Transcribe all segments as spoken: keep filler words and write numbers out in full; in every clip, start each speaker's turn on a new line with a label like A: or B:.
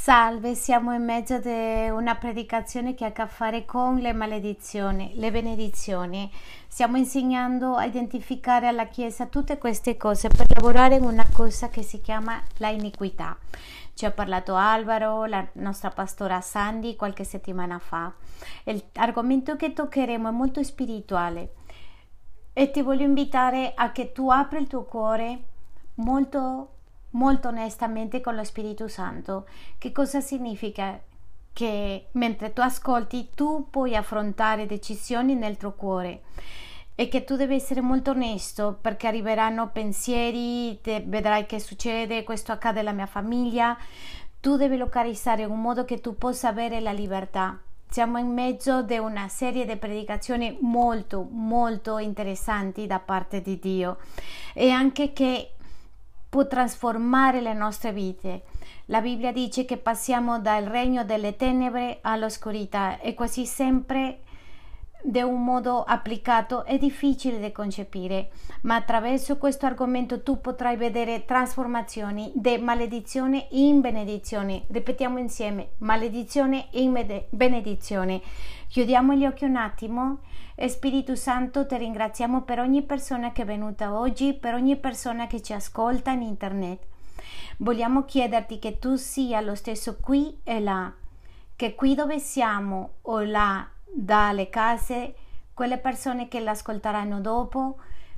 A: Salve, siamo in mezzo a una predicazione che ha a che fare con le maledizioni, le benedizioni. Stiamo insegnando a identificare alla Chiesa tutte queste cose per lavorare in una cosa che si chiama la iniquità. Ci ha parlato Alvaro, la nostra pastora Sandy, qualche settimana fa. L'argomento che toccheremo è molto spirituale e ti voglio invitare a che tu apri il tuo cuore molto molto onestamente con lo Spirito Santo. Che cosa significa? Che mentre tu ascolti tu puoi affrontare decisioni nel tuo cuore e che tu devi essere molto onesto, perché arriveranno pensieri, te, vedrai che succede, questo accade alla mia famiglia. Tu devi localizzare in un modo che tu possa avere la libertà. Siamo in mezzo di una serie di predicazioni molto molto interessanti da parte di Dio e anche che può trasformare le nostre vite. La Bibbia dice che passiamo dal regno delle tenebre all'oscurità e quasi sempre di un modo applicato è difficile da concepire, ma attraverso questo argomento tu potrai vedere trasformazioni di maledizione in benedizione. Ripetiamo insieme: maledizione in benedizione. Chiudiamo gli occhi un attimo. E Spirito Santo, ti ringraziamo per ogni persona che è venuta oggi, per ogni persona che ci ascolta in internet. Vogliamo chiederti che tu sia lo stesso qui e là, che qui dove siamo o là dalle case, quelle persone che l'ascolteranno dopo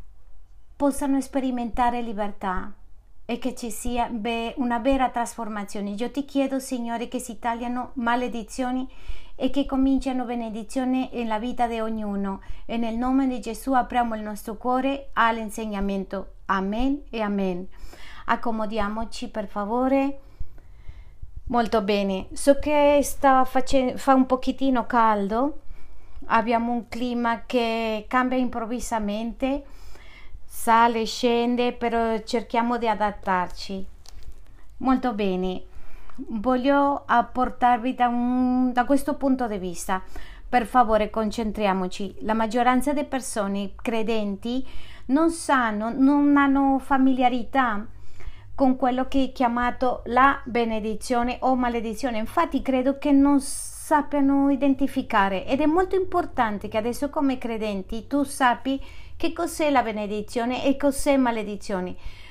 A: possano sperimentare libertà e che ci sia una vera trasformazione. Io ti chiedo, Signore, che si tagliano maledizioni e che cominciano benedizione nella vita di ognuno, e nel nome di Gesù apriamo il nostro cuore all'insegnamento. Amen e amen. Accomodiamoci per favore. Molto bene, so che sta facendo, fa un pochettino caldo, abbiamo un clima che cambia improvvisamente, sale, scende, però cerchiamo di adattarci. Molto bene. Voglio apportarvi da, un, da questo punto di vista. Per favore, concentriamoci. La maggioranza delle persone credenti non sanno, non hanno familiarità con quello che è chiamato la benedizione o maledizione. Infatti credo che non sappiano identificare, ed è molto importante che adesso come credenti tu sappi che cos'è la benedizione e cos'è maledizione.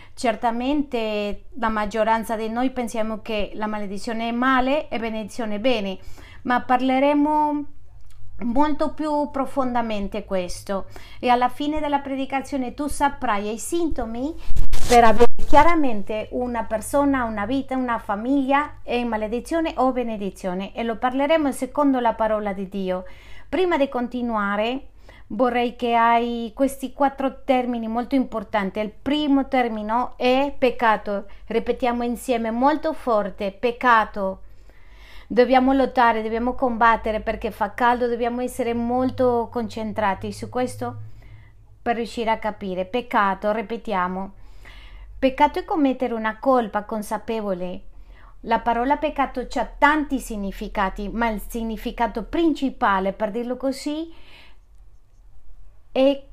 A: Certamente la maggioranza di noi pensiamo che la maledizione è male e benedizione è bene, ma parleremo molto più profondamente questo, e alla fine della predicazione tu saprai i sintomi per avere chiaramente una persona, una vita, una famiglia è in maledizione o benedizione, e lo parleremo secondo la parola di Dio. Prima di continuare vorrei che hai questi quattro termini molto importanti. Il primo termine è peccato. Ripetiamo insieme molto forte: peccato. Dobbiamo lottare, dobbiamo combattere perché fa caldo, dobbiamo essere molto concentrati su questo per riuscire a capire. Peccato, ripetiamo. Peccato è commettere una colpa consapevole. La parola peccato ha tanti significati, ma il significato principale, per dirlo così, è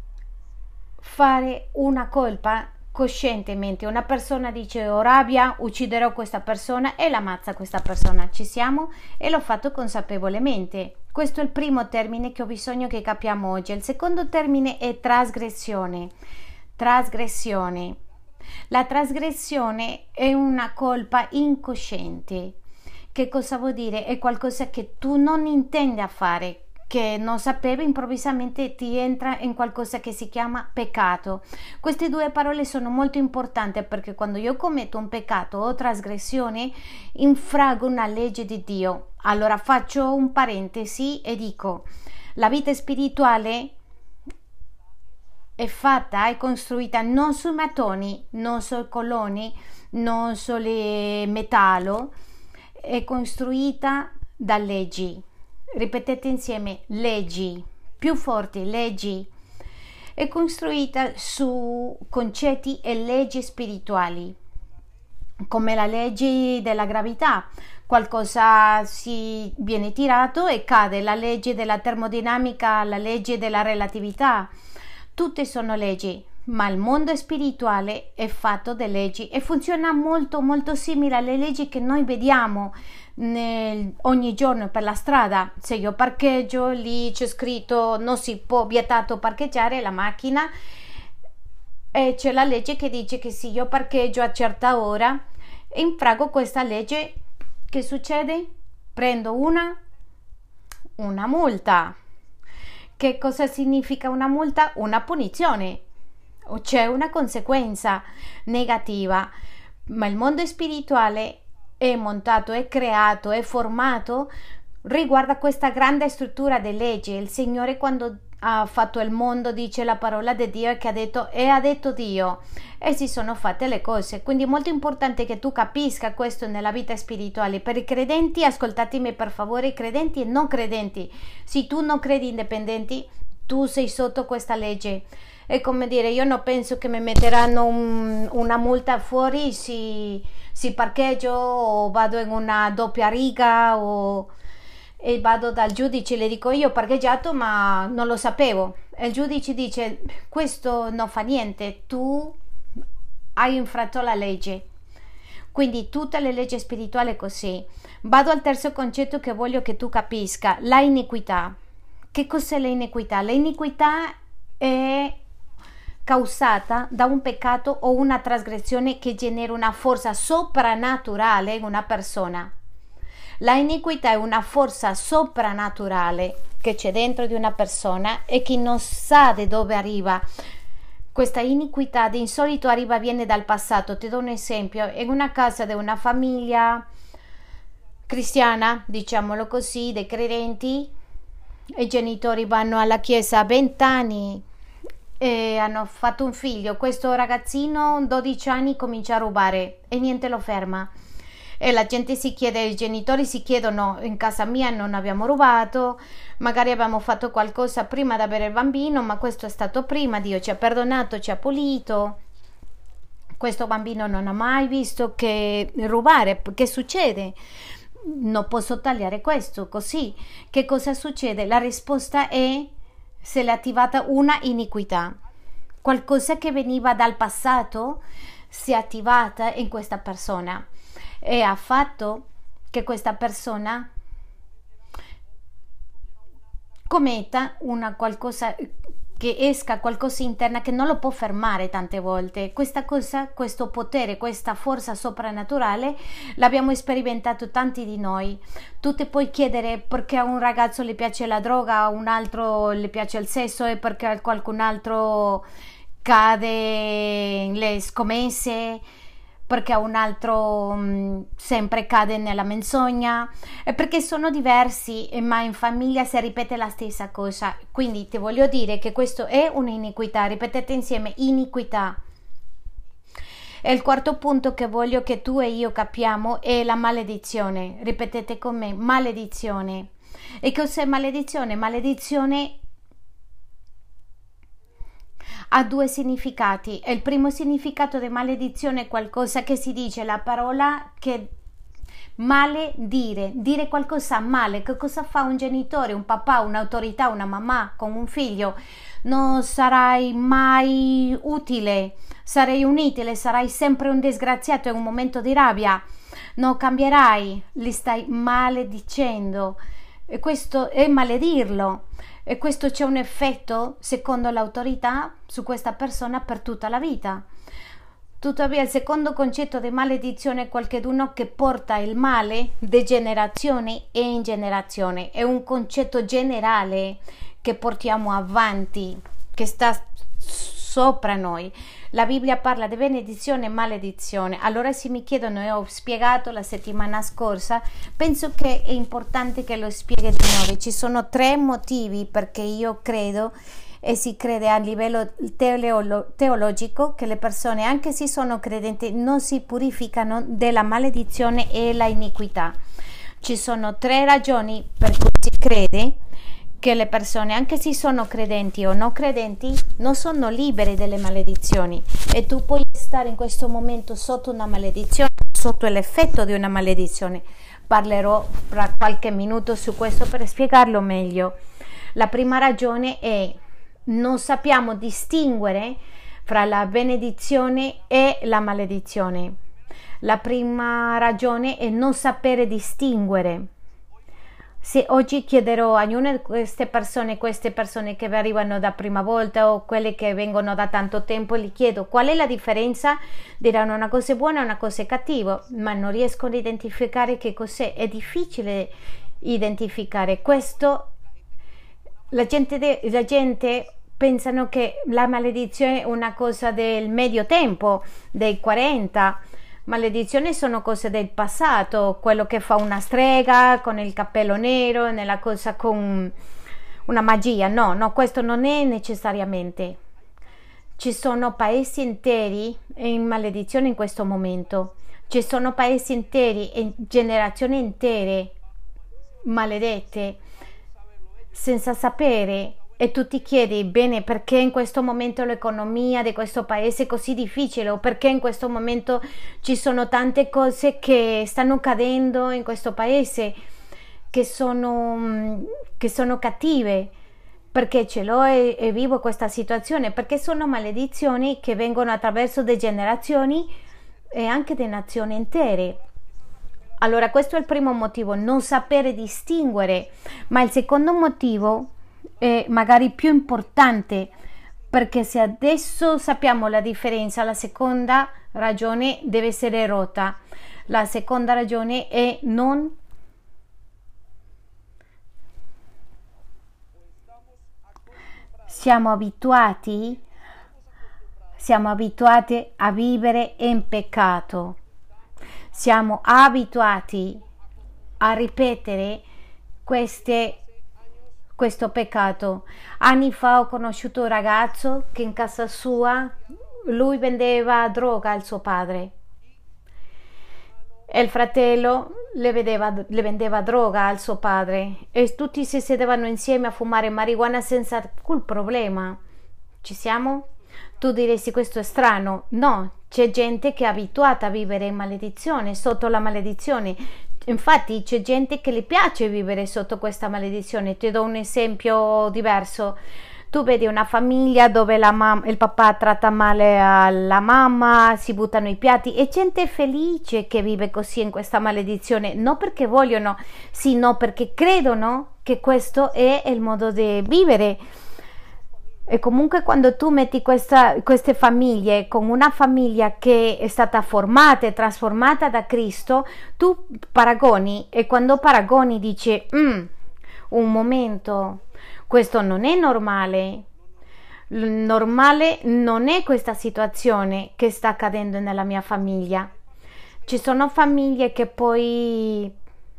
A: fare una colpa coscientemente. Una persona dice: ho rabbia, ucciderò questa persona, e l'ammazza questa persona. Ci siamo? E l'ho fatto consapevolmente. Questo è il primo termine che ho bisogno che capiamo oggi. Il secondo termine è trasgressione. Trasgressione. La trasgressione è una colpa incosciente. Che cosa vuol dire? È qualcosa che tu non intendi a fare, che non sapevi, improvvisamente ti entra in qualcosa che si chiama peccato. Queste due parole sono molto importanti, perché quando io commetto un peccato o trasgressione infraggo una legge di Dio. Allora faccio un parentesi e dico: la vita spirituale è fatta, è costruita non sui mattoni, non sui colonni, non sul metallo, è costruita da leggi. Ripetete insieme: leggi, più forti, leggi. È costruita su concetti e leggi spirituali, come la legge della gravità. Qualcosa si viene tirato e cade, la legge della termodinamica, la legge della relatività. Tutte sono leggi, ma il mondo spirituale è fatto di leggi e funziona molto molto simile alle leggi che noi vediamo nel, ogni giorno per la strada. Se io parcheggio, lì c'è scritto non si può, vietato parcheggiare la macchina, e c'è la legge che dice che se io parcheggio a certa ora e infrango questa legge, che succede? Prendo una una multa. Che cosa significa una multa? Una punizione, o c'è una conseguenza negativa. Ma il mondo spirituale è montato, è creato, è formato riguarda questa grande struttura di leggi. Il Signore, quando ha fatto il mondo, dice la parola di Dio che ha detto e ha detto Dio, e si sono fatte le cose. Quindi è molto importante che tu capisca questo nella vita spirituale. Per i credenti, ascoltatemi per favore, i credenti e non credenti, se tu non credi indipendenti, tu sei sotto questa legge. È come dire, io non penso che mi metteranno un, una multa fuori se, se parcheggio o vado in una doppia riga o e vado dal giudice e le dico io ho parcheggiato ma non lo sapevo, e il giudice dice questo non fa niente, tu hai infratto la legge. Quindi tutte le leggi spirituali è così. Vado al terzo concetto che voglio che tu capisca: la iniquità. Che cos'è l'iniquità? L'iniquità è causata da un peccato o una trasgressione che genera una forza soprannaturale in una persona. La iniquità è una forza soprannaturale che c'è dentro di una persona e che non sa di dove arriva. Questa iniquità di solito arriva, viene dal passato. Ti do un esempio: in una casa di una famiglia cristiana, diciamolo così, dei credenti, i genitori vanno alla chiesa a venti anni e hanno fatto un figlio. Questo ragazzino dodici anni comincia a rubare e niente lo ferma. E la gente si chiede, i genitori si chiedono: in casa mia non abbiamo rubato, magari abbiamo fatto qualcosa prima di avere il bambino, ma questo è stato prima, Dio ci ha perdonato, ci ha pulito, questo bambino non ha mai visto che rubare. Che succede? Non posso tagliare questo così. Che cosa succede? La risposta è: se l'è attivata una iniquità, qualcosa che veniva dal passato si è attivata in questa persona e ha fatto che questa persona commetta una qualcosa, che esca qualcosa interna che non lo può fermare. Tante volte questa cosa, questo potere, questa forza soprannaturale l'abbiamo sperimentato tanti di noi. Tu ti puoi chiedere perché a un ragazzo le piace la droga, a un altro le piace il sesso, e perché a qualcun altro cade le scommesse, perché a un altro mh, sempre cade nella menzogna, e perché sono diversi, ma in famiglia si ripete la stessa cosa. Quindi ti voglio dire che questo è un'iniquità. Ripetete insieme: iniquità. E il quarto punto che voglio che tu e io capiamo è la maledizione. Ripetete con me: maledizione. E cos'è maledizione? Maledizione ha due significati. Il primo significato di maledizione è qualcosa che si dice, la parola che male dire, dire qualcosa male. Che cosa fa un genitore, un papà, un'autorità, una mamma con un figlio? Non sarai mai utile, sarai inutile, sarai sempre un disgraziato in un momento di rabbia, non cambierai, li stai maledicendo, e questo è maledirlo. E questo c'è un effetto, secondo l'autorità, su questa persona per tutta la vita. Tuttavia il secondo concetto di maledizione è qualcuno che porta il male di generazione e in generazione. È un concetto generale che portiamo avanti, che sta sopra noi. La Bibbia parla di benedizione e maledizione. Allora se mi chiedono, e ho spiegato la settimana scorsa, penso che è importante che lo spieghi di nuovo. Ci sono tre motivi perché io credo, e si crede a livello teolo- teologico, che le persone, anche se sono credenti, non si purificano della maledizione e la iniquità. Ci sono tre ragioni per cui si crede che le persone, anche se sono credenti o non credenti, non sono libere delle maledizioni, e tu puoi stare in questo momento sotto una maledizione, sotto l'effetto di una maledizione. Parlerò fra qualche minuto su questo per spiegarlo meglio. La prima ragione è: non sappiamo distinguere fra la benedizione e la maledizione. La prima ragione è non sapere distinguere. Se oggi chiederò a ognuna di queste persone, queste persone che arrivano da prima volta o quelle che vengono da tanto tempo, gli chiedo qual è la differenza, diranno una cosa è buona e una cosa è cattiva, ma non riescono a identificare che cos'è. È difficile identificare questo. La gente, la gente pensano che la maledizione è una cosa del medio tempo, dei quaranta. Maledizioni sono cose del passato, quello che fa una strega con il cappello nero, nella cosa con una magia. No, no, questo non è necessariamente. Ci sono paesi interi in maledizione in questo momento. Ci sono paesi interi e generazioni intere maledette senza sapere. E tu ti chiedi, bene, perché in questo momento l'economia di questo paese è così difficile, o perché in questo momento ci sono tante cose che stanno cadendo in questo paese, che sono, che sono cattive, perché ce l'ho e, e vivo questa situazione, perché sono maledizioni che vengono attraverso le generazioni e anche di nazioni intere. Allora questo è il primo motivo, non sapere distinguere, ma il secondo motivo è magari più importante, perché se adesso sappiamo la differenza, la seconda ragione deve essere rotta. La seconda ragione è non siamo abituati siamo abituati a vivere in peccato, siamo abituati a ripetere queste questo peccato. Anni fa ho conosciuto un ragazzo che in casa sua lui vendeva droga al suo padre e il fratello le, vedeva, le vendeva droga al suo padre e tutti si sedevano insieme a fumare marijuana senza alcun problema. Ci siamo? Tu diresti questo è strano. No, c'è gente che è abituata a vivere in maledizione, sotto la maledizione. Infatti c'è gente che le piace vivere sotto questa maledizione. Ti do un esempio diverso. Tu vedi una famiglia dove la mam- il papà tratta male la mamma, si buttano i piatti, e gente felice che vive così in questa maledizione, non perché vogliono, sì, no, perché credono che questo è il modo di vivere. E comunque quando tu metti questa, queste famiglie con una famiglia che è stata formata e trasformata da Cristo, tu paragoni, e quando paragoni dici mm, un momento, questo non è normale. Normale non è questa situazione che sta accadendo nella mia famiglia. Ci sono famiglie che poi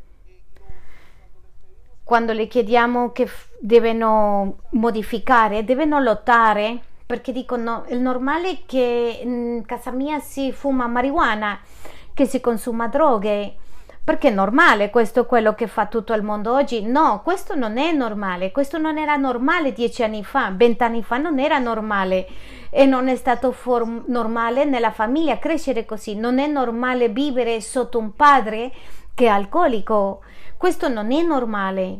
A: quando le chiediamo che f- devono modificare, devono lottare, perché dicono è normale che in casa mia si fuma marijuana, che si consuma droghe, perché è normale, questo è quello che fa tutto il mondo oggi. No, questo non è normale, questo non era normale dieci anni fa, vent'anni fa non era normale, e non è stato form- normale nella famiglia crescere così, non è normale vivere sotto un padre che è alcolico. Questo non è normale.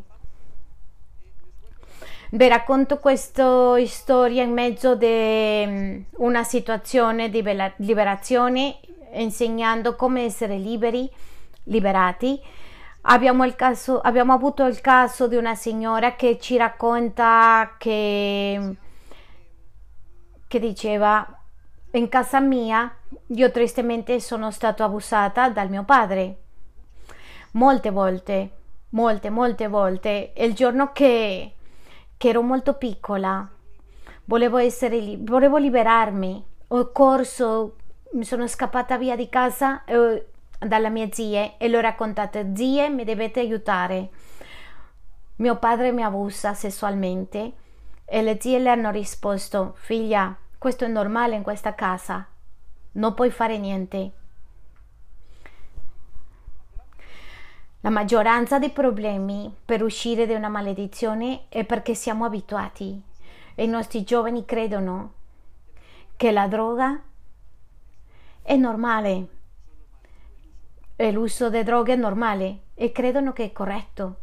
A: Vi racconto questa storia in mezzo a una situazione di liberazione, insegnando come essere liberi, liberati. Abbiamo, il caso, abbiamo avuto il caso di una signora che ci racconta che, che diceva: in casa mia io tristemente sono stato abusata dal mio padre. Molte volte, molte, molte volte. E il giorno che, che ero molto piccola, volevo essere, volevo liberarmi. Ho corso, mi sono scappata via di casa eh, dalla mia zia e le ho raccontate: zie, mi dovete aiutare. Mio padre mi abusa sessualmente. E le zie le hanno risposto: figlia, questo è normale in questa casa, non puoi fare niente. La maggioranza dei problemi per uscire da una maledizione è perché siamo abituati, e i nostri giovani credono che la droga è normale e l'uso di droghe è normale e credono che è corretto.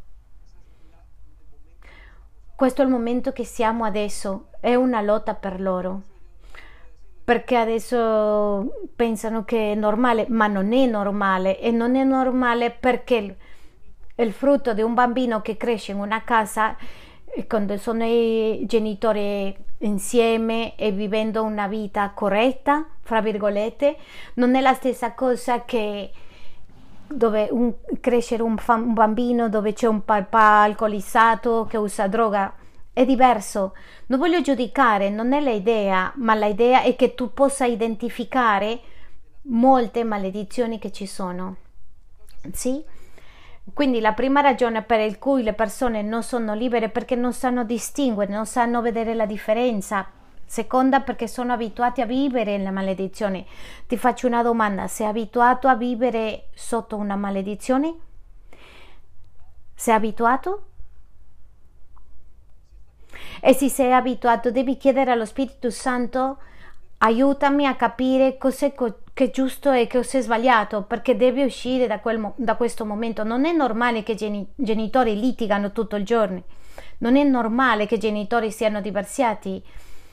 A: Questo è il momento che siamo adesso, è una lotta per loro. perché adesso pensano che è normale, ma non è normale, e non è normale perché il, il frutto di un bambino che cresce in una casa, e quando sono i genitori insieme e vivendo una vita corretta, fra virgolette, non è la stessa cosa che dove un, crescere un, un bambino dove c'è un papà alcolizzato che usa droga. È diverso. Non voglio giudicare, non è l'idea, ma l'idea è che tu possa identificare molte maledizioni che ci sono. Sì? Quindi la prima ragione per cui le persone non sono libere è perché non sanno distinguere, non sanno vedere la differenza. Seconda, perché sono abituati a vivere la maledizione. Ti faccio una domanda: sei abituato a vivere sotto una maledizione? Sei abituato? E se sei abituato, devi chiedere allo Spirito Santo: aiutami a capire cos'è co- che è giusto e cos'è sbagliato, perché devi uscire da, quel mo- da questo momento. Non è normale che i geni- genitori litigano tutto il giorno. Non è normale che i genitori siano divorziati.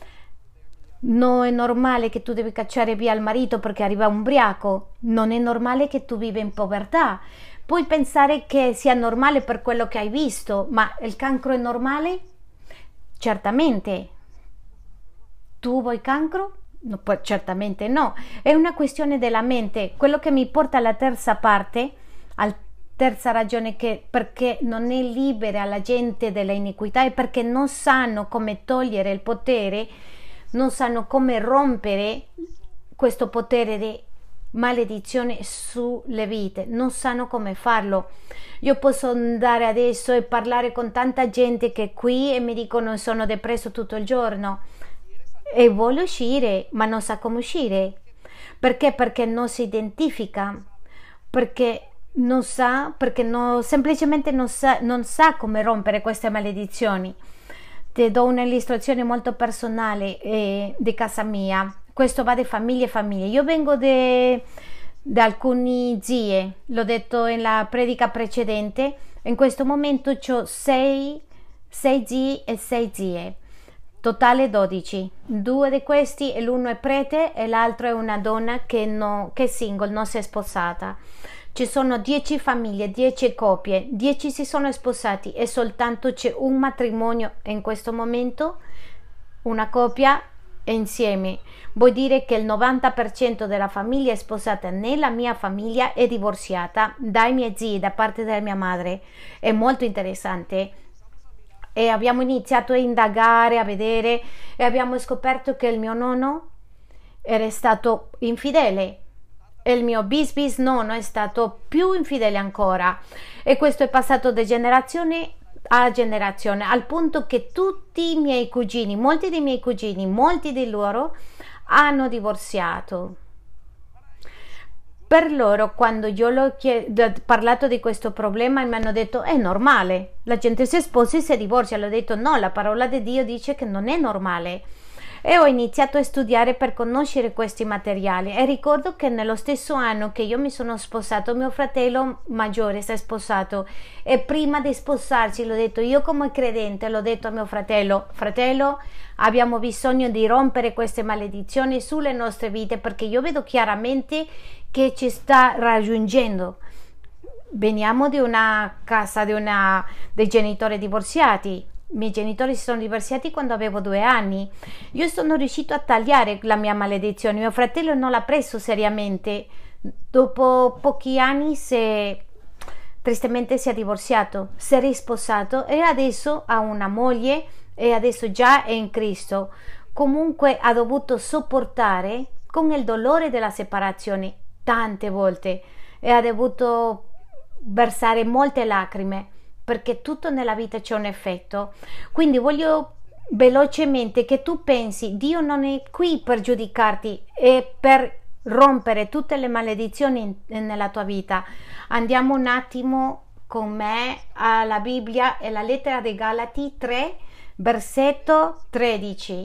A: Non è normale che tu devi cacciare via il marito perché arriva ubriaco. Non è normale che tu vivi in povertà. Puoi pensare che sia normale per quello che hai visto, ma il cancro è normale? Certamente. Tu vuoi cancro? No, poi certamente no. È una questione della mente. Quello che mi porta alla terza parte, alla terza ragione che perché non è libera la gente della iniquità, è perché non sanno come togliere il potere, non sanno come rompere questo potere di maledizione sulle vite, non sanno come farlo. Io posso andare adesso e parlare con tanta gente che è qui e mi dicono sono depresso tutto il giorno e vuole uscire ma non sa come uscire. Perché? Perché non si identifica, perché non sa, perché no, semplicemente non sa, non sa come rompere queste maledizioni. Ti do un'illustrazione molto personale eh, di casa mia. Questo va di famiglie e famiglie. Io vengo da alcune zie, l'ho detto nella predica precedente. In questo momento ho sei, sei zii e sei zie, totale dodici. Due di questi, l'uno è prete e l'altro è una donna che, no, che è single, non si è sposata. Ci sono dieci famiglie, dieci coppie, dieci si sono sposati e soltanto c'è un matrimonio in questo momento, una coppia è insieme. Vuol dire che il novanta per cento della famiglia è sposata. Nella mia famiglia è divorziata dai miei zii, da parte della mia madre. È molto interessante. E abbiamo iniziato a indagare, a vedere e abbiamo scoperto che il mio nonno era stato infidele. E il mio bis bis nonno è stato più infidele ancora, e questo è passato da generazione a generazione, al punto che tutti i miei cugini, molti dei miei cugini, molti di loro hanno divorziato. Per loro, quando io ho parlato di questo problema, mi hanno detto è normale, la gente si sposa e si divorzia. L'ho detto no, la parola di Dio dice che non è normale. E ho iniziato a studiare per conoscere questi materiali, e ricordo che nello stesso anno che io mi sono sposato, mio fratello maggiore si è sposato, e prima di sposarci l'ho detto, io come credente l'ho detto a mio fratello: fratello, abbiamo bisogno di rompere queste maledizioni sulle nostre vite, perché io vedo chiaramente che ci sta raggiungendo. Veniamo di una casa di una, dei genitori divorziati. I miei genitori si sono divorziati quando avevo due anni. Io sono riuscito a tagliare la mia maledizione. Mio fratello non l'ha preso seriamente. Dopo pochi anni si, tristemente si è divorziato, si è risposato e adesso ha una moglie e adesso già è in Cristo. Comunque ha dovuto sopportare con il dolore della separazione tante volte e ha dovuto versare molte lacrime, perché tutto nella vita c'è un effetto. Quindi voglio velocemente che tu pensi: Dio non è qui per giudicarti, è per rompere tutte le maledizioni nella tua vita. Andiamo un attimo con me alla Bibbia e la lettera dei Galati tre, versetto tredici,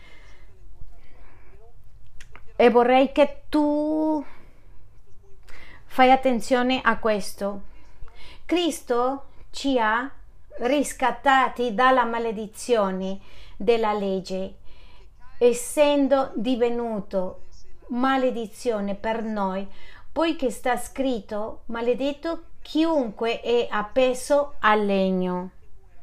A: e vorrei che tu fai attenzione a questo. Cristo ci ha riscattati dalla maledizione della legge. essendo divenuto maledizione per noi, poiché sta scritto: maledetto chiunque è appeso al legno.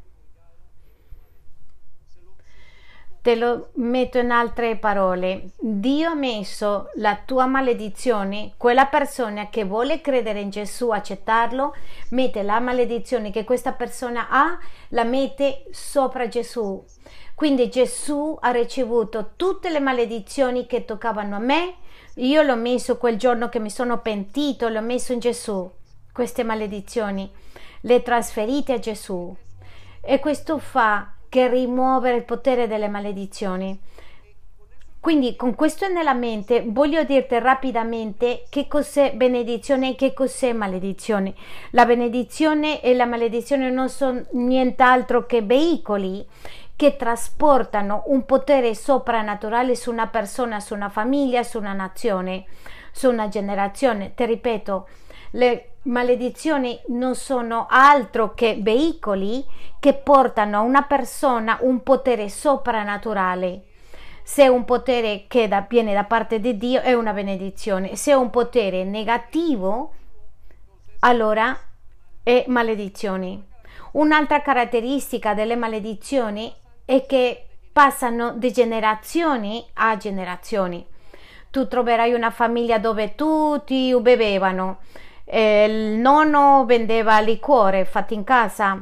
A: Te lo metto in altre parole: Dio ha messo la tua maledizione, quella persona che vuole credere in Gesù, accettarlo, mette la maledizione che questa persona ha, la mette sopra Gesù. Quindi Gesù ha ricevuto tutte le maledizioni che toccavano a me. Io l'ho messo quel giorno che mi sono pentito, l'ho messo in Gesù. Queste maledizioni le trasferite a Gesù, e questo fa che rimuovere il potere delle maledizioni. Quindi con questo nella mente voglio dirti rapidamente che cos'è benedizione e che cos'è maledizione. La benedizione e la maledizione non sono nient'altro che veicoli che trasportano un potere soprannaturale su una persona, su una famiglia, su una nazione, su una generazione. Ti ripeto, le maledizioni non sono altro che veicoli che portano a una persona un potere soprannaturale. Se è un potere che da, viene da parte di Dio, è una benedizione. Se è un potere negativo, allora è maledizione. Un'altra caratteristica delle maledizioni è che passano di generazioni a generazioni. Tu troverai una famiglia dove tutti bevevano. Eh, il nonno vendeva liquore fatto in casa,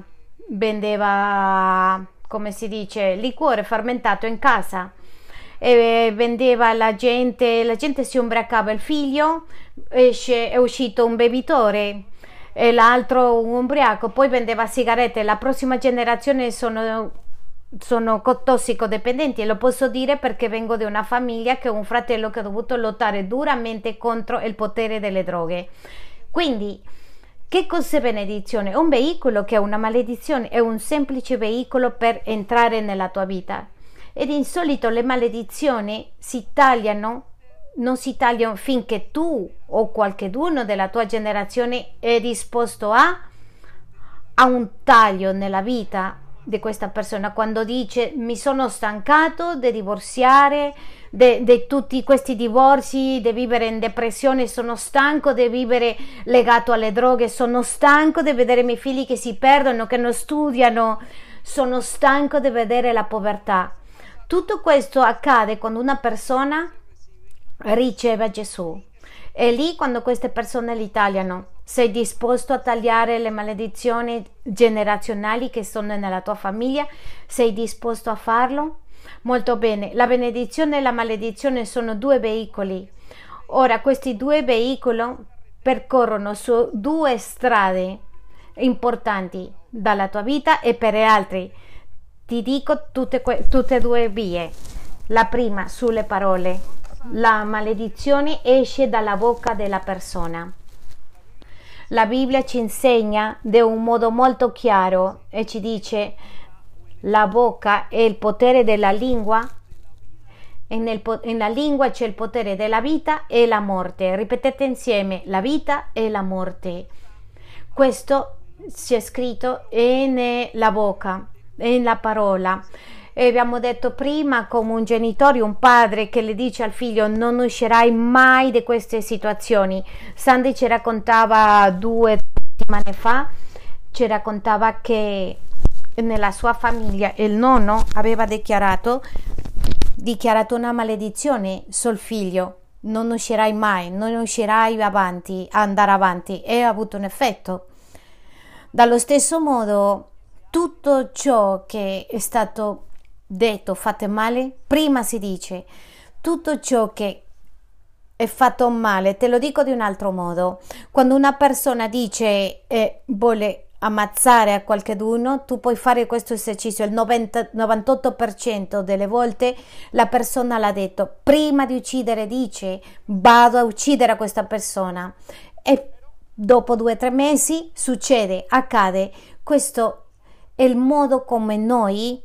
A: vendeva, come si dice, liquore fermentato in casa, e vendeva la gente, la gente si ubriacava, il figlio esce, è uscito un bevitore e l'altro un ubriaco, poi vendeva sigarette. La prossima generazione sono sono tossicodipendenti, e lo posso dire perché vengo da una famiglia che ho un fratello che ha dovuto lottare duramente contro il potere delle droghe. Quindi, che cos'è benedizione? Un veicolo che è una maledizione, è un semplice veicolo per entrare nella tua vita. Ed in solito le maledizioni si tagliano, non si tagliano finché tu o qualcuno della tua generazione è disposto a, a un taglio nella vita di questa persona, quando dice: mi sono stancato di divorziare, di tutti questi divorzi, di vivere in depressione, sono stanco di vivere legato alle droghe, sono stanco di vedere i miei figli che si perdono, che non studiano, sono stanco di vedere la povertà. Tutto questo accade quando una persona riceve Gesù. E lì, quando queste persone li tagliano, sei disposto a tagliare le maledizioni generazionali che sono nella tua famiglia? Sei disposto a farlo? Molto bene. La benedizione e la maledizione sono due veicoli. Ora, questi due veicoli percorrono su due strade importanti dalla tua vita e per gli altri. Ti dico tutte, tutte e due vie. La prima, sulle parole. La maledizione esce dalla bocca della persona. La Bibbia ci insegna di un modo molto chiaro e ci dice: la bocca è il potere della lingua, e nel, nella lingua c'è il potere della vita e la morte. Ripetete insieme: la vita e la morte. Questo c'è scritto nella bocca, nella parola. E abbiamo detto prima, come un genitore, un padre che le dice al figlio: non uscirai mai di queste situazioni. Sandy ci raccontava due settimane fa, ci raccontava che nella sua famiglia il nonno aveva dichiarato dichiarato una maledizione sul figlio: non uscirai mai, non uscirai avanti, andare avanti, e ha avuto un effetto. Dallo stesso modo, tutto ciò che è stato detto fate male, prima si dice tutto ciò che è fatto male. Te lo dico di un altro modo: quando una persona dice eh, vuole ammazzare a qualcuno, tu puoi fare questo esercizio, il novanta, novantotto per cento delle volte la persona l'ha detto prima di uccidere, dice vado a uccidere a questa persona, e dopo due o tre mesi succede, accade. Questo è il modo come noi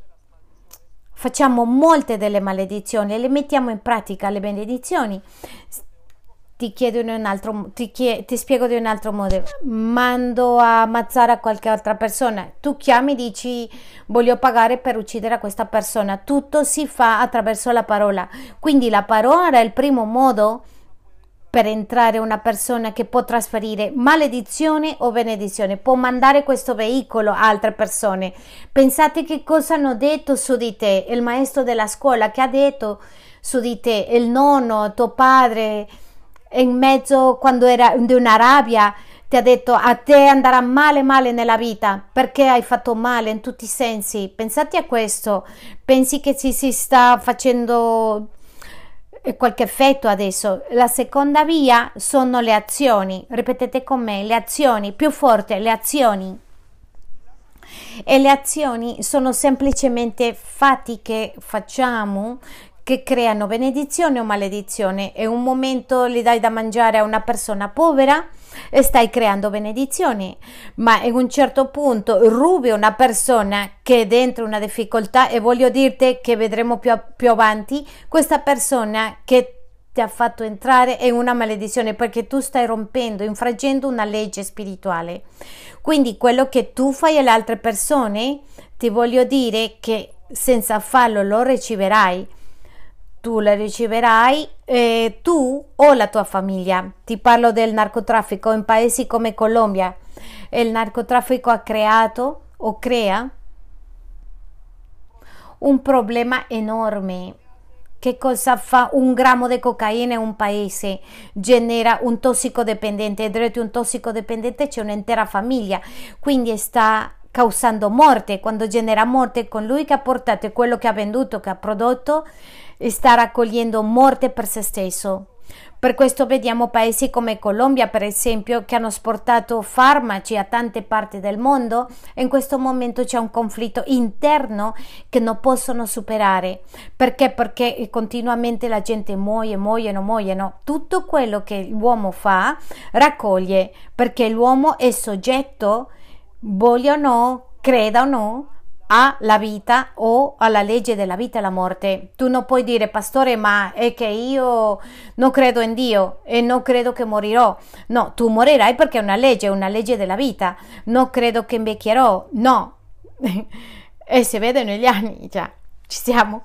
A: facciamo molte delle maledizioni e le mettiamo in pratica. Le benedizioni ti chiedo in un altro, ti, chie, ti spiego di un altro modo, mando a ammazzare a qualche altra persona, tu chiami e dici voglio pagare per uccidere a questa persona, tutto si fa attraverso la parola, quindi la parola è il primo modo per entrare una persona che può trasferire maledizione o benedizione, può mandare questo veicolo a altre persone. Pensate che cosa hanno detto su di te, il maestro della scuola che ha detto su di te, il nonno, tuo padre, in mezzo quando era di una rabbia, ti ha detto a te andrà male male nella vita perché hai fatto male in tutti i sensi. Pensate a questo, pensi che ci si sta facendo qualche effetto adesso. La seconda via sono le azioni, ripetete con me, le azioni, più forte, le azioni. E le azioni sono semplicemente fatti che facciamo che creano benedizione o maledizione. E un momento gli dai da mangiare a una persona povera e stai creando benedizione, ma in un certo punto rubi una persona che è dentro una difficoltà, e voglio dirti che vedremo più, più avanti questa persona che ti ha fatto entrare in una maledizione perché tu stai rompendo, infrangendo una legge spirituale. Quindi quello che tu fai alle altre persone, ti voglio dire che senza farlo lo riceverai. Tu le riceverai eh, tu o la tua famiglia. Ti parlo del narcotraffico in paesi come Colombia. Il narcotraffico ha creato o crea un problema enorme. Che cosa fa un grammo di cocaina in un paese? Genera un tossicodipendente, e dietro un tossicodipendente c'è un'intera famiglia, quindi sta causando morte. Quando genera morte, con lui che ha portato quello che ha venduto, che ha prodotto, sta raccogliendo morte per se stesso. Per questo vediamo paesi come Colombia, per esempio, che hanno esportato farmaci a tante parti del mondo, e in questo momento c'è un conflitto interno che non possono superare. Perché? Perché continuamente la gente muoie, muoiono, muoiono. Tutto quello che l'uomo fa raccoglie, perché l'uomo è soggetto, voglia o no, creda o no, alla vita o alla legge della vita e la morte. Tu non puoi dire, pastore, ma è che io non credo in Dio e non credo che morirò. No, tu morirai perché è una legge, è una legge della vita. Non credo che invecchierò, no. E si vede negli anni, già, ci siamo.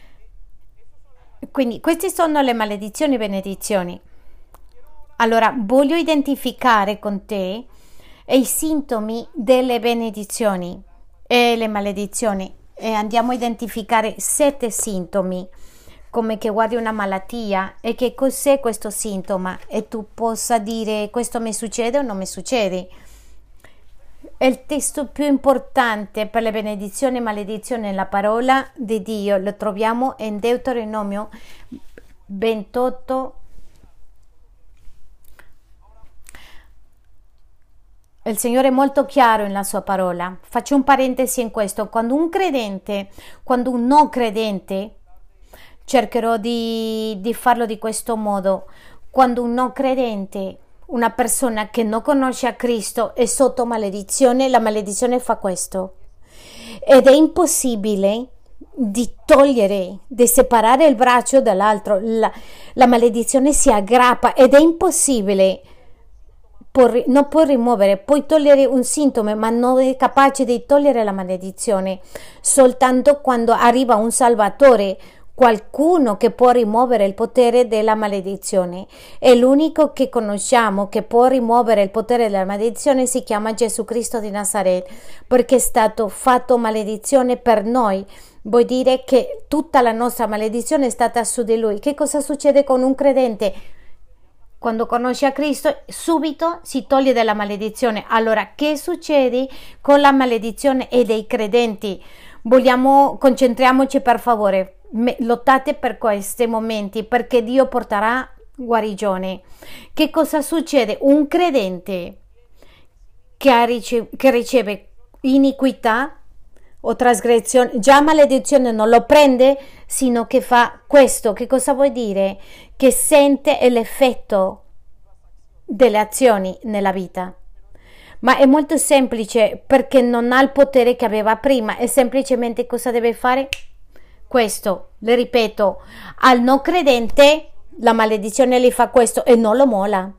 A: Quindi queste sono le maledizioni e benedizioni. Allora, voglio identificare con te i sintomi delle benedizioni e le maledizioni, e andiamo a identificare sette sintomi, come che guardi una malattia e che cos'è questo sintomo e tu possa dire questo mi succede o non mi succede. È il testo più importante per le benedizioni e maledizioni nella parola di Dio, lo troviamo in Deuteronomio ventotto. Il Signore è molto chiaro nella sua parola. Faccio un parentesi in questo. Quando un credente, quando un non credente, cercherò di, di farlo di questo modo, quando un non credente, una persona che non conosce a Cristo è sotto maledizione, la maledizione fa questo. Ed è impossibile di togliere, di separare il braccio dall'altro. La, la maledizione si aggrappa ed è impossibile. Non puoi rimuovere, puoi togliere un sintomo, ma non è capace di togliere la maledizione. Soltanto quando arriva un Salvatore, qualcuno che può rimuovere il potere della maledizione. E l'unico che conosciamo che può rimuovere il potere della maledizione si chiama Gesù Cristo di Nazaret, perché è stato fatto maledizione per noi. Vuol dire che tutta la nostra maledizione è stata su di Lui. Che cosa succede con un credente? Quando conosce a Cristo, subito si toglie dalla maledizione. Allora, che succede con la maledizione e dei credenti? Vogliamo, concentriamoci per favore, lottate per questi momenti, perché Dio porterà guarigione. Che cosa succede? Un credente che, ha rice- che riceve iniquità o trasgressione, già maledizione non lo prende, sino che fa questo. Che cosa vuol dire? Che sente l'effetto delle azioni nella vita. Ma è molto semplice, perché non ha il potere che aveva prima, e semplicemente cosa deve fare? Questo, le ripeto, al non credente la maledizione gli fa questo e non lo molla,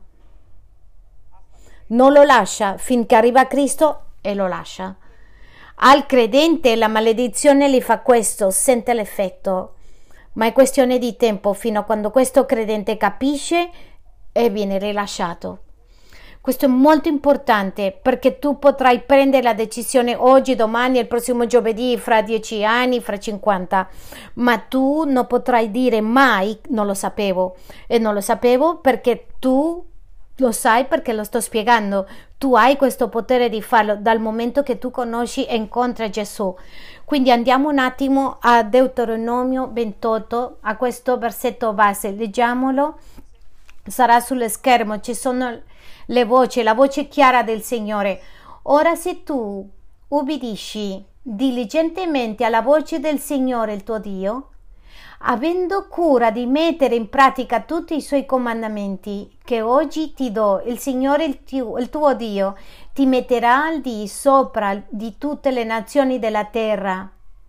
A: non lo lascia finché arriva a Cristo e lo lascia. Al credente la maledizione gli fa questo, sente l'effetto, ma è questione di tempo fino a quando questo credente capisce e viene rilasciato. Questo è molto importante perché tu potrai prendere la decisione oggi, domani, il prossimo giovedì, fra dieci anni, fra cinquanta, ma tu non potrai dire mai non lo sapevo, e non lo sapevo perché tu lo sai, perché lo sto spiegando. Tu hai questo potere di farlo dal momento che tu conosci e incontri Gesù. Quindi andiamo un attimo a Deuteronomio ventotto, a questo versetto base, leggiamolo, sarà sullo schermo, ci sono le voci, la voce chiara del Signore. Ora se tu ubbidisci diligentemente alla voce del Signore il tuo Dio, avendo cura di mettere in pratica tutti i suoi comandamenti che oggi ti do, il Signore il tuo, il tuo Dio ti metterà al di sopra di tutte le nazioni della terra,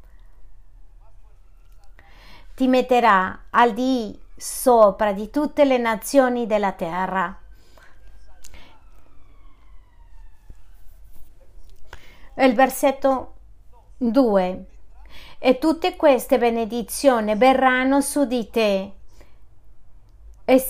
A: ti metterà al di sopra di tutte le nazioni della terra. Il versetto due: e tutte queste benedizioni verranno su di te e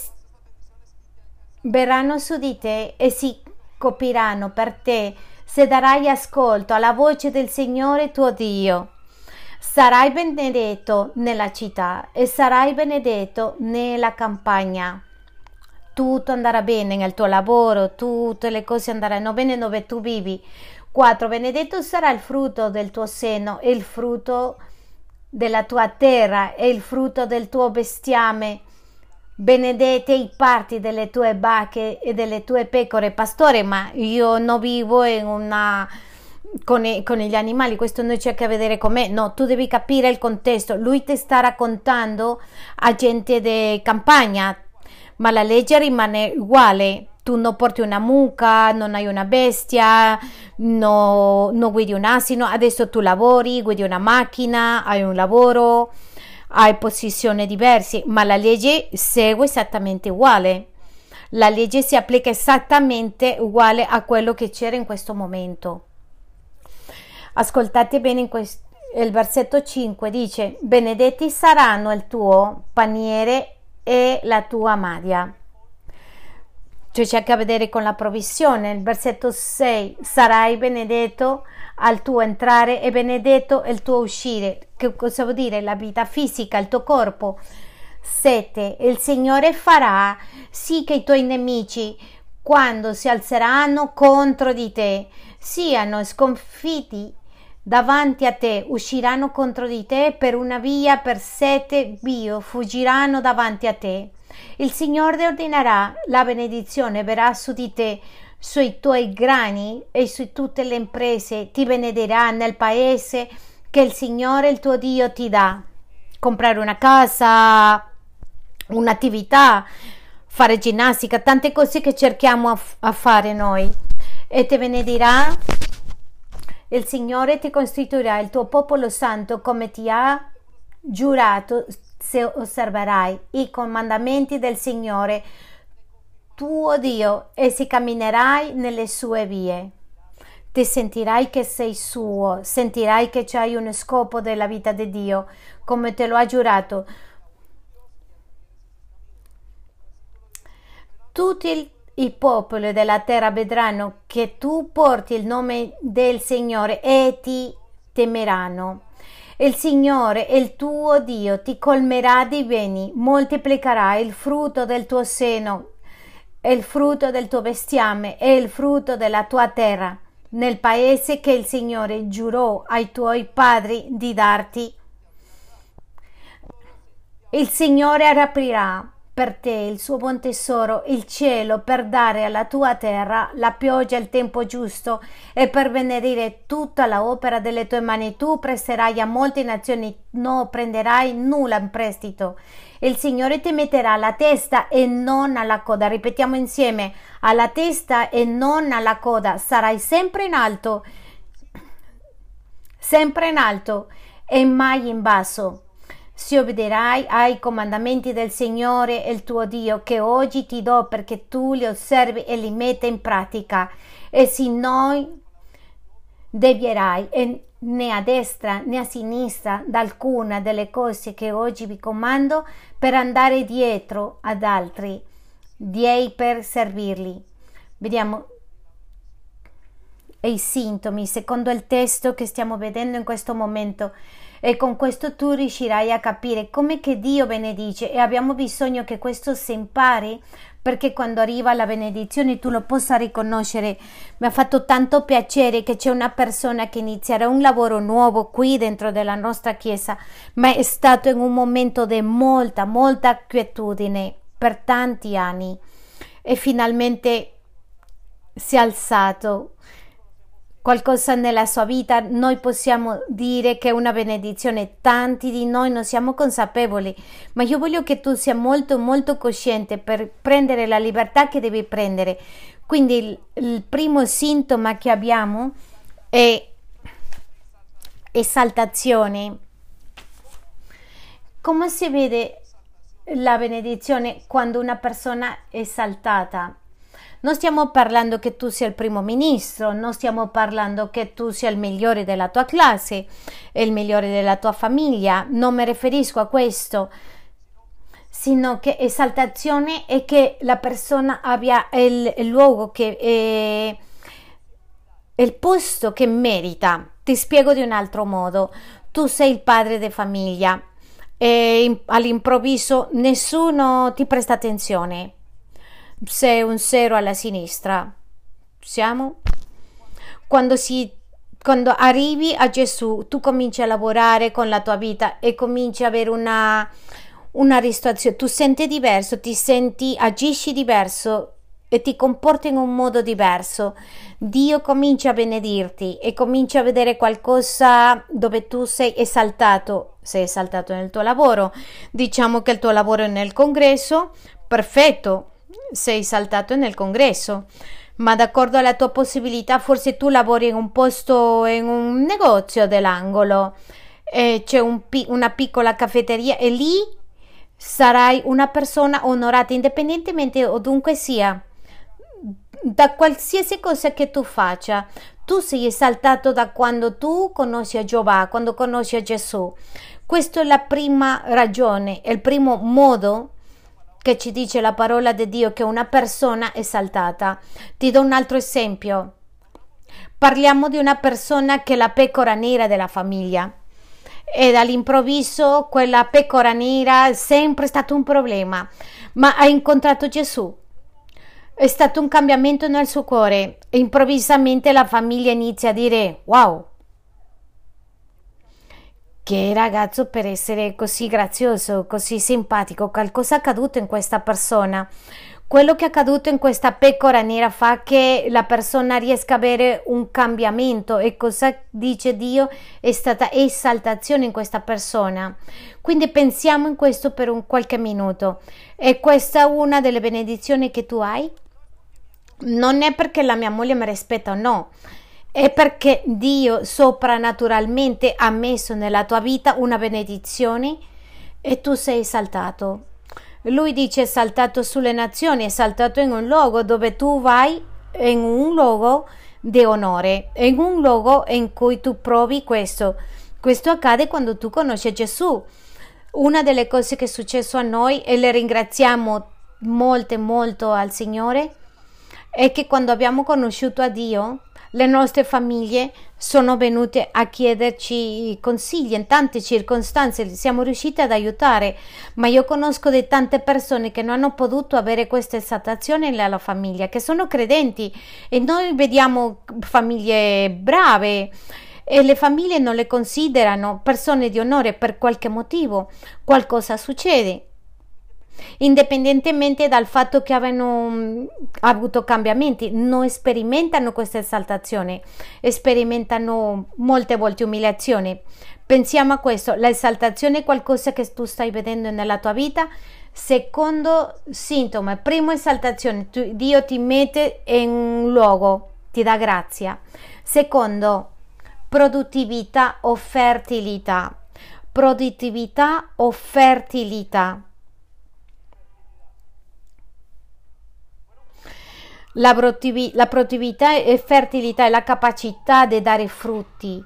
A: verranno su di te e si copriranno per te se darai ascolto alla voce del Signore tuo Dio. Sarai benedetto nella città e sarai benedetto nella campagna. Tutto andrà bene nel tuo lavoro, tutte le cose andranno bene dove tu vivi. quattro. Benedetto sarà il frutto del tuo seno e il frutto della tua terra e il frutto del tuo bestiame. Benedete i parti delle tue vacche e delle tue pecore. Pastore, ma io non vivo in una con, i, con gli animali, questo non c'è a che vedere con me. No, tu devi capire il contesto. Lui ti sta raccontando a gente di campagna, ma la legge rimane uguale. Tu non porti una mucca, non hai una bestia, no, non guidi un asino, adesso tu lavori, guidi una macchina, hai un lavoro, hai posizioni diverse, ma la legge segue esattamente uguale. La legge si applica esattamente uguale a quello che c'era in questo momento. Ascoltate bene in questo, il versetto cinque dice: benedetti saranno il tuo paniere e la tua madia. Cioè c'è a che vedere con la provvisione. Il versetto sei: sarai benedetto al tuo entrare e benedetto il tuo uscire. Che cosa vuol dire? La vita fisica, il tuo corpo. sette. Il Signore farà sì che i tuoi nemici, quando si alzeranno contro di te, siano sconfitti davanti a te, usciranno contro di te per una via, per sette vie fuggiranno davanti a te. Il Signore ordinerà la benedizione, verrà su di te, sui tuoi grani e su tutte le imprese, ti benedirà nel paese che il Signore il tuo Dio ti dà. Comprare una casa, un'attività, fare ginnastica, tante cose che cerchiamo a, a fare noi. E ti benedirà, il Signore ti costituirà il tuo popolo santo come ti ha giurato, se osserverai i comandamenti del Signore tuo Dio e se camminerai nelle sue vie. Ti sentirai che sei suo, sentirai che c'hai uno scopo della vita di Dio, come te lo ha giurato. Tutti i popoli della terra vedranno che tu porti il nome del Signore e ti temeranno. Il Signore, il tuo Dio, ti colmerà di beni, moltiplicherà il frutto del tuo seno, il frutto del tuo bestiame e il frutto della tua terra, nel paese che il Signore giurò ai tuoi padri di darti. Il Signore aprirà per te il suo buon tesoro, il cielo, per dare alla tua terra la pioggia al tempo giusto e per benedire tutta l'opera delle tue mani. Tu presterai a molte nazioni, non prenderai nulla in prestito. Il Signore ti metterà alla testa e non alla coda. Ripetiamo insieme: alla testa e non alla coda. Sarai sempre in alto, sempre in alto e mai in basso. se obbederai ai comandamenti del Signore il tuo Dio che oggi ti do perché tu li osservi e li metti in pratica, e se non devierai e né a destra né a sinistra da alcuna delle cose che oggi vi comando per andare dietro ad altri dei per servirli. Vediamo i sintomi secondo il testo che stiamo vedendo in questo momento, e con questo tu riuscirai a capire come che Dio benedice, e abbiamo bisogno che questo si impari perché quando arriva la benedizione tu lo possa riconoscere. Mi ha fatto tanto piacere che c'è una persona che inizierà un lavoro nuovo qui dentro della nostra chiesa, ma è stato in un momento di molta molta quietudine per tanti anni e finalmente si è alzato qualcosa nella sua vita. Noi possiamo dire che è una benedizione, tanti di noi non siamo consapevoli, ma io voglio che tu sia molto molto cosciente per prendere la libertà che devi prendere. Quindi il, il primo sintomo che abbiamo è esaltazione. Come si vede la benedizione quando una persona è esaltata? Non stiamo parlando che tu sia il primo ministro, non stiamo parlando che tu sia il migliore della tua classe, il migliore della tua famiglia, non mi riferisco a questo, sino che esaltazione è che la persona abbia il, il luogo, che è il posto che merita. Ti spiego di un altro modo: tu sei il padre di famiglia e all'improvviso nessuno ti presta attenzione. Sei un zero alla sinistra. Siamo? Quando, si, quando arrivi a Gesù, tu cominci a lavorare con la tua vita e cominci a avere una, una risoluzione. Tu senti diverso, ti senti, agisci diverso e ti comporti in un modo diverso. Dio comincia a benedirti e comincia a vedere qualcosa dove tu sei esaltato. Sei esaltato nel tuo lavoro. Diciamo che il tuo lavoro è nel congresso. Perfetto. Sei saltato nel congresso, ma d'accordo alla tua possibilità forse tu lavori in un posto, in un negozio dell'angolo, e c'è un, una piccola caffetteria e lì sarai una persona onorata indipendentemente o dunque sia, da qualsiasi cosa che tu faccia. Tu sei esaltato da quando tu conosci a Giova, quando conosci a Gesù. Questa è la prima ragione, è il primo modo che ci dice la parola di Dio che una persona è esaltata. Ti do un altro esempio. Parliamo di una persona che è la pecora nera della famiglia e all'improvviso quella pecora nera è sempre stato un problema, ma ha incontrato Gesù. È stato un cambiamento nel suo cuore e improvvisamente la famiglia inizia a dire: wow, che ragazzo per essere così grazioso, così simpatico, qualcosa è accaduto in questa persona. Quello che è accaduto in questa pecora nera fa che la persona riesca a avere un cambiamento, e cosa dice Dio? È stata esaltazione in questa persona. Quindi pensiamo in questo per un qualche minuto. E questa è una delle benedizioni che tu hai? Non è perché la mia moglie mi rispetta o no, è perché Dio soprannaturalmente ha messo nella tua vita una benedizione e tu sei esaltato. Lui dice esaltato sulle nazioni, esaltato in un luogo dove tu vai, in un luogo di onore, in un luogo in cui tu provi questo. Questo accade quando tu conosci Gesù. Una delle cose che è successo a noi, e le ringraziamo molto molto al Signore, è che quando abbiamo conosciuto a Dio, le nostre famiglie sono venute a chiederci consigli in tante circostanze, li siamo riusciti ad aiutare, ma io conosco di tante persone che non hanno potuto avere questa esaltazione nella famiglia, che sono credenti, e noi vediamo famiglie brave e le famiglie non le considerano persone di onore per qualche motivo. Qualcosa succede. Indipendentemente dal fatto che abbiano avuto cambiamenti, non sperimentano questa esaltazione, sperimentano molte volte umiliazione. Pensiamo a questo: l'esaltazione è qualcosa che tu stai vedendo nella tua vita. Secondo sintomo, primo esaltazione, tu, Dio ti mette in un luogo, ti dà grazia. Secondo, produttività o fertilità. produttività o fertilità. La, produttivi- la produttività e fertilità è la capacità di dare frutti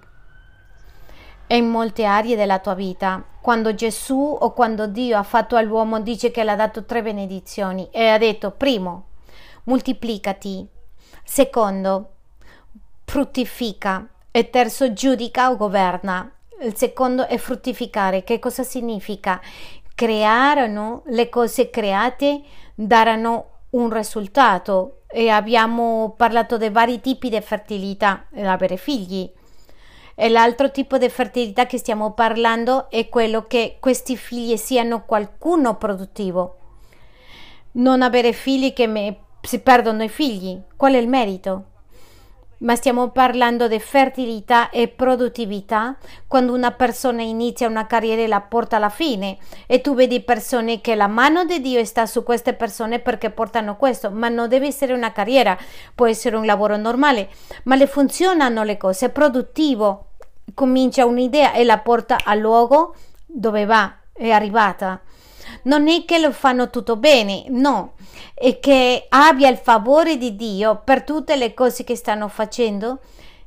A: in molte aree della tua vita. Quando Gesù o quando Dio ha fatto all'uomo, dice che le ha dato tre benedizioni e ha detto: primo, moltiplicati; secondo, fruttifica; e terzo, giudica o governa. Il secondo è fruttificare. Che cosa significa? Crearono le cose create, daranno un risultato, e abbiamo parlato di vari tipi di fertilità, avere figli. E l'altro tipo di fertilità che stiamo parlando è quello che questi figli siano qualcuno produttivo. Non avere figli che me, si perdono i figli, qual è il merito? Ma stiamo parlando di fertilità e produttività quando una persona inizia una carriera e la porta alla fine, e tu vedi persone che la mano di Dio sta su queste persone perché portano questo, ma non deve essere una carriera, può essere un lavoro normale, ma le funzionano le cose, è produttivo, comincia un'idea e la porta al luogo dove va, è arrivata. Non è che lo fanno tutto bene, no, è che abbia il favore di Dio per tutte le cose che stanno facendo,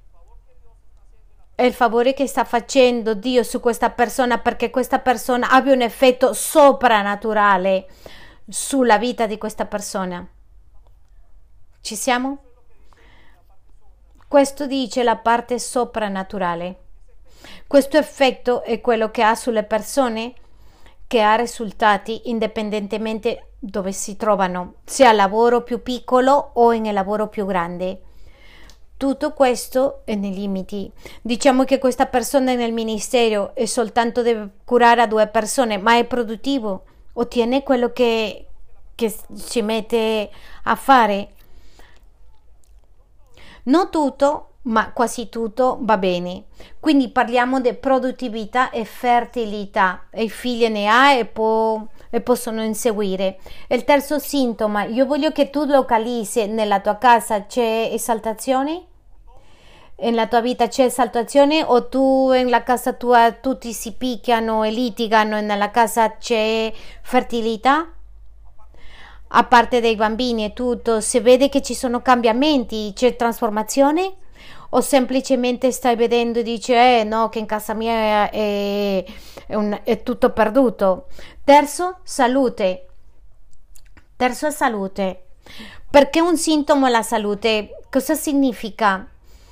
A: è il favore che sta facendo Dio su questa persona, perché questa persona abbia un effetto soprannaturale sulla vita di questa persona. Ci siamo? Questo dice la parte soprannaturale. Questo effetto è quello che ha sulle persone, che ha risultati indipendentemente dove si trovano, sia al lavoro più piccolo o nel lavoro più grande. Tutto questo è nei limiti. Diciamo che questa persona nel ministero è soltanto deve curare a due persone, ma è produttivo, ottiene quello che, che si mette a fare. Non tutto, ma quasi tutto va bene. Quindi parliamo di produttività e fertilità, e i figli ne ha e, può, e possono inseguire. Il terzo sintomo, io voglio che tu localizzi nella tua casa: c'è esaltazione? Nella tua vita c'è esaltazione, o tu nella casa tua tutti si picchiano e litigano e nella casa c'è fertilità? A parte dei bambini e tutto, si vede che ci sono cambiamenti, c'è trasformazione? O semplicemente stai vedendo e dici eh no, che in casa mia è, è, un, è tutto perduto? Terzo, salute. Terzo è salute. Perché un sintomo è la salute? Cosa significa?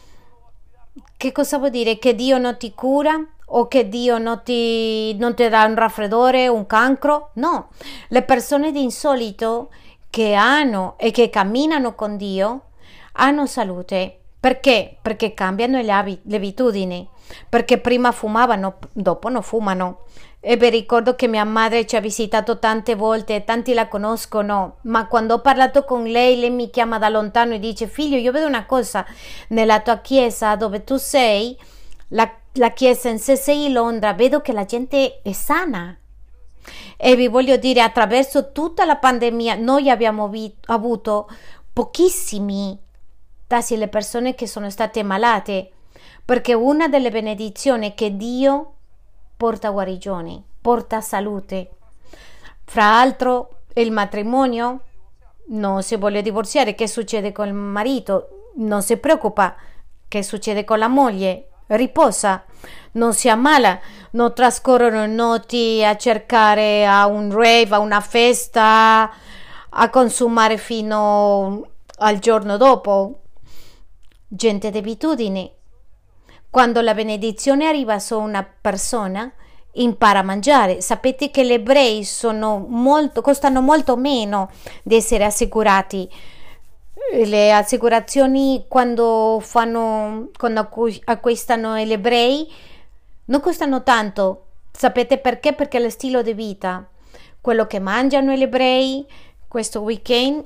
A: Che cosa vuol dire? Che Dio non ti cura? O che Dio non ti, non ti dà un raffreddore, un cancro? No. Le persone di insolito che hanno e che camminano con Dio hanno salute. Perché? Perché cambiano le, abit- le abitudini, perché prima fumavano, dopo non fumano. E vi ricordo che mia madre ci ha visitato tante volte, tanti la conoscono, ma quando ho parlato con lei, lei mi chiama da lontano e dice: figlio, io vedo una cosa, nella tua chiesa dove tu sei, la, la chiesa in C S I Londra, vedo che la gente è sana. E vi voglio dire, attraverso tutta la pandemia noi abbiamo vi- avuto pochissimi tasi le persone che sono state malate, perché una delle benedizioni è che Dio porta guarigione, porta salute. Fra l'altro il matrimonio, non si vuole divorziare, che succede con il marito? Non si preoccupa, che succede con la moglie? Riposa, non si ammala, non trascorrono notti a cercare a un rave, a una festa, a consumare fino al giorno dopo. Gente di abitudini. Quando la benedizione arriva su una persona, impara a mangiare. Sapete che gli ebrei sono molto, costano molto meno di essere assicurati. Le assicurazioni quando fanno, quando acquistano gli ebrei non costano tanto. Sapete perché? Perché lo stile di vita, quello che mangiano gli ebrei questo weekend,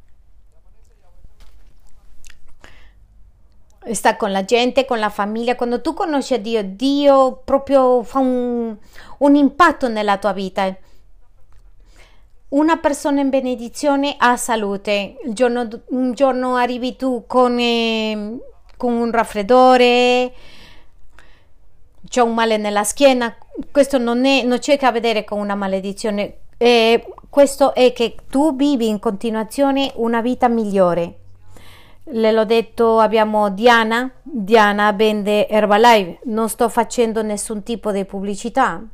A: sta con la gente, con la famiglia. Quando tu conosci Dio, Dio proprio fa un, un impatto nella tua vita. Una persona in benedizione ha salute. Il giorno, un giorno arrivi tu con, eh, con un raffreddore, c'è un male nella schiena, questo non è, non c'è che a vedere con una maledizione, eh, questo è che tu vivi in continuazione una vita migliore. Le l'ho detto, abbiamo Diana, Diana vende Herbalife, non sto facendo nessun tipo di pubblicità.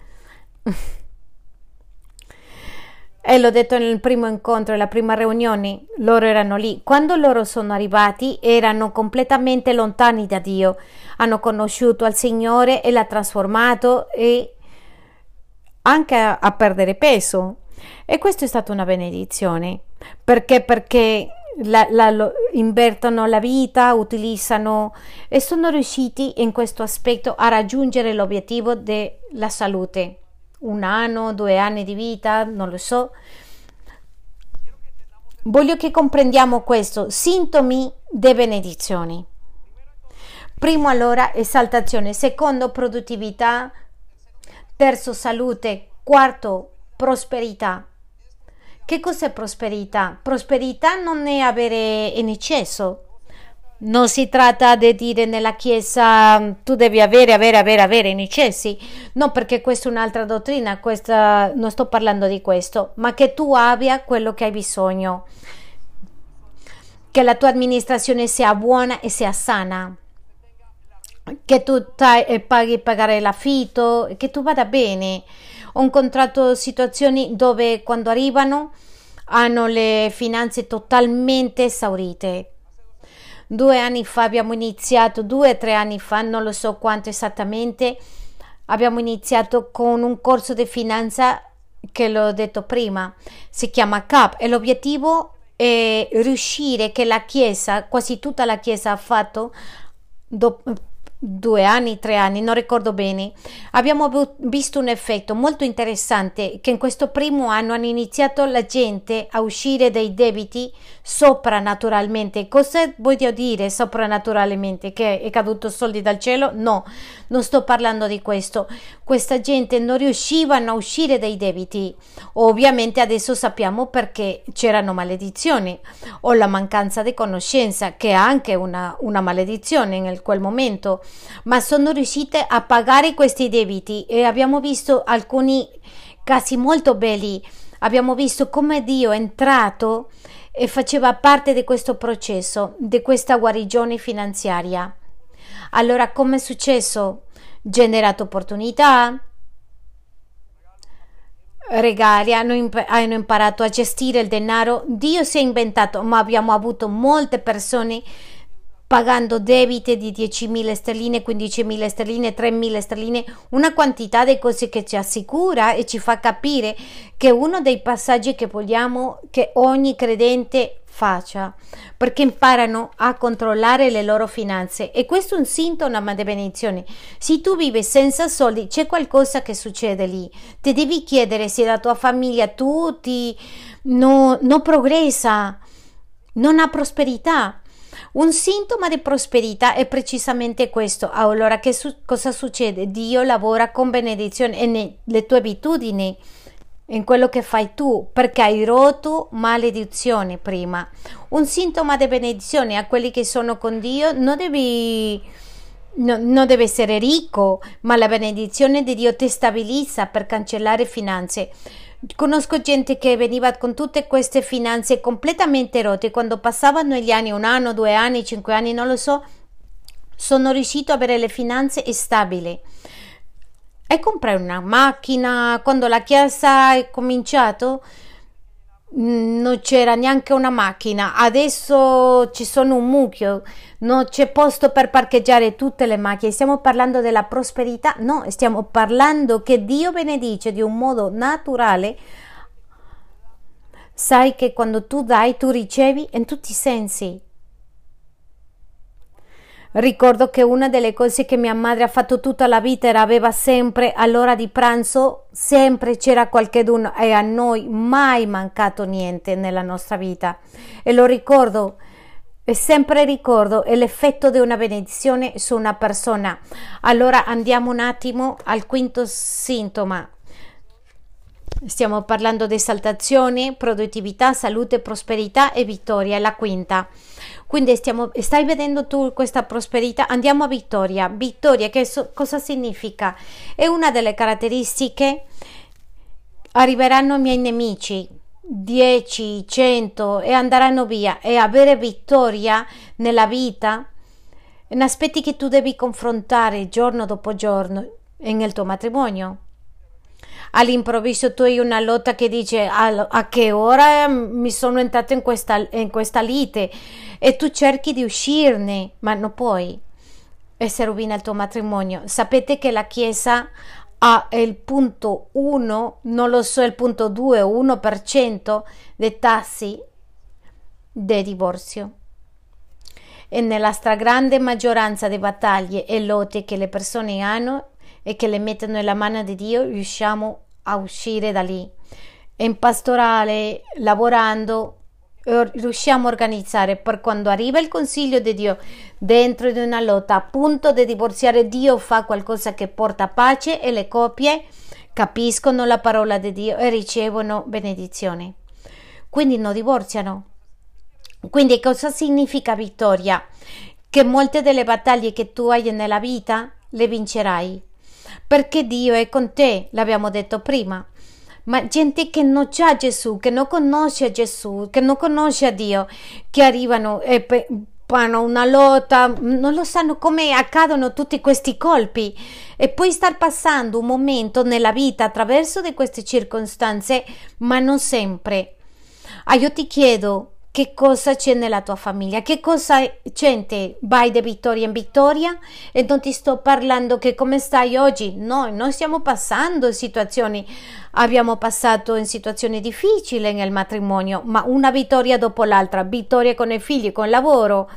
A: E l'ho detto nel primo incontro, nella prima riunione, loro erano lì. Quando loro sono arrivati erano completamente lontani da Dio, hanno conosciuto al Signore e l'ha trasformato e anche a, a perdere peso. E questo è stata una benedizione. Perché? Perché la, la, lo, invertono la vita, utilizzano e sono riusciti in questo aspetto a raggiungere l'obiettivo della salute. Un anno, due anni di vita, non lo so. Voglio che comprendiamo questo, sintomi di benedizioni. Primo, allora, esaltazione. Secondo, produttività. Terzo, salute. Quarto, prosperità. Che cos'è prosperità? Prosperità non è avere in eccesso. Non si tratta di dire nella Chiesa tu devi avere, avere, avere, avere in eccessi. No, perché questa è un'altra dottrina, questa, non sto parlando di questo, ma che tu abbia quello che hai bisogno. Che la tua amministrazione sia buona e sia sana. Che tu tai, paghi pagare l'affitto, che tu vada bene. Ho incontrato situazioni dove quando arrivano hanno le finanze totalmente esaurite. Due anni fa abbiamo iniziato, due o tre anni fa, non lo so quanto esattamente, abbiamo iniziato con un corso di finanza che l'ho detto prima, si chiama C A P e l'obiettivo è riuscire che la Chiesa, quasi tutta la Chiesa ha fatto dopo due anni, tre anni, non ricordo bene, abbiamo visto un effetto molto interessante che in questo primo anno hanno iniziato la gente a uscire dai debiti soprannaturalmente. Cosa voglio dire soprannaturalmente? Che è caduto soldi dal cielo? No, non sto parlando di questo. Questa gente non riuscivano a uscire dai debiti. Ovviamente adesso sappiamo perché c'erano maledizioni o la mancanza di conoscenza, che è anche una, una maledizione in quel momento, ma sono riuscite a pagare questi debiti e abbiamo visto alcuni casi molto belli. Abbiamo visto come Dio è entrato e faceva parte di questo processo, di questa guarigione finanziaria. Allora, come è successo? Generato opportunità, regali, hanno, imp- hanno imparato a gestire il denaro. Dio si è inventato, ma abbiamo avuto molte persone pagando debiti di diecimila sterline, quindicimila sterline, tremila sterline, una quantità di cose che ci assicura e ci fa capire che uno dei passaggi che vogliamo che ogni credente faccia, perché imparano a controllare le loro finanze, e questo è un sintomo di benedizione. Se tu vivi senza soldi, c'è qualcosa che succede lì, ti devi chiedere se la tua famiglia, tutti, no, non progressa, non ha prosperità. Un sintomo di prosperità è precisamente questo. Allora, che su- cosa succede? Dio lavora con benedizione nelle tue abitudini, in quello che fai tu, perché hai rotto maledizione prima. Un sintomo di benedizione a quelli che sono con Dio: non devi, no, non deve essere ricco, ma la benedizione di Dio ti stabilizza per cancellare finanze. Conosco gente che veniva con tutte queste finanze completamente rotte, quando passavano gli anni, un anno, due anni, cinque anni, non lo so, sono riuscito a avere le finanze stabili e comprare una macchina. Quando la Chiesa è cominciato non c'era neanche una macchina, adesso ci sono un mucchio, non c'è posto per parcheggiare tutte le macchine. Stiamo parlando della prosperità? No, stiamo parlando che Dio benedice di un modo naturale. Sai che quando tu dai, tu ricevi in tutti i sensi. Ricordo che una delle cose che mia madre ha fatto tutta la vita era aveva sempre all'ora di pranzo, sempre c'era qualcheduno, e a noi mai mancato niente nella nostra vita, e lo ricordo e sempre ricordo è l'effetto di una benedizione su una persona. Allora andiamo un attimo al quinto sintomo. Stiamo parlando di esaltazione, produttività, salute, prosperità e vittoria, è la quinta. Quindi stiamo, stai vedendo tu questa prosperità? Andiamo a vittoria. Vittoria, che so, cosa significa? È una delle caratteristiche. Arriveranno i miei nemici, dieci, cento, e andranno via. E avere vittoria nella vita in aspetti che tu devi confrontare giorno dopo giorno nel tuo matrimonio. All'improvviso tu hai una lotta che dice a, a che ora mi sono entrato in questa, in questa lite, e tu cerchi di uscirne, ma non puoi, e si rovina il tuo matrimonio. Sapete che la Chiesa ha il punto uno, non lo so, il punto due o uno per cento dei tassi di divorzio, e nella stragrande maggioranza delle battaglie e lotte che le persone hanno e che le mettono nella mano di Dio, riusciamo a uscire da lì. In pastorale, lavorando, riusciamo a organizzare per quando arriva il consiglio di Dio dentro di una lotta a punto di divorziare. Dio fa qualcosa che porta pace e le coppie capiscono la parola di Dio e ricevono benedizione, quindi non divorziano. Quindi cosa significa vittoria? Che molte delle battaglie che tu hai nella vita le vincerai, perché Dio è con te, l'abbiamo detto prima. Ma gente che non c'ha Gesù, che non conosce a Gesù, che non conosce a Dio, che arrivano e fanno una lotta, non lo sanno come accadono tutti questi colpi, e poi star passando un momento nella vita attraverso di queste circostanze, ma non sempre. Ah, io ti chiedo, che cosa c'è nella tua famiglia? Che cosa gente vai di vittoria in vittoria? E non ti sto parlando che come stai oggi. Noi non stiamo passando situazioni, abbiamo passato in situazioni difficili nel matrimonio, ma una vittoria dopo l'altra, vittoria con i figli, con il lavoro,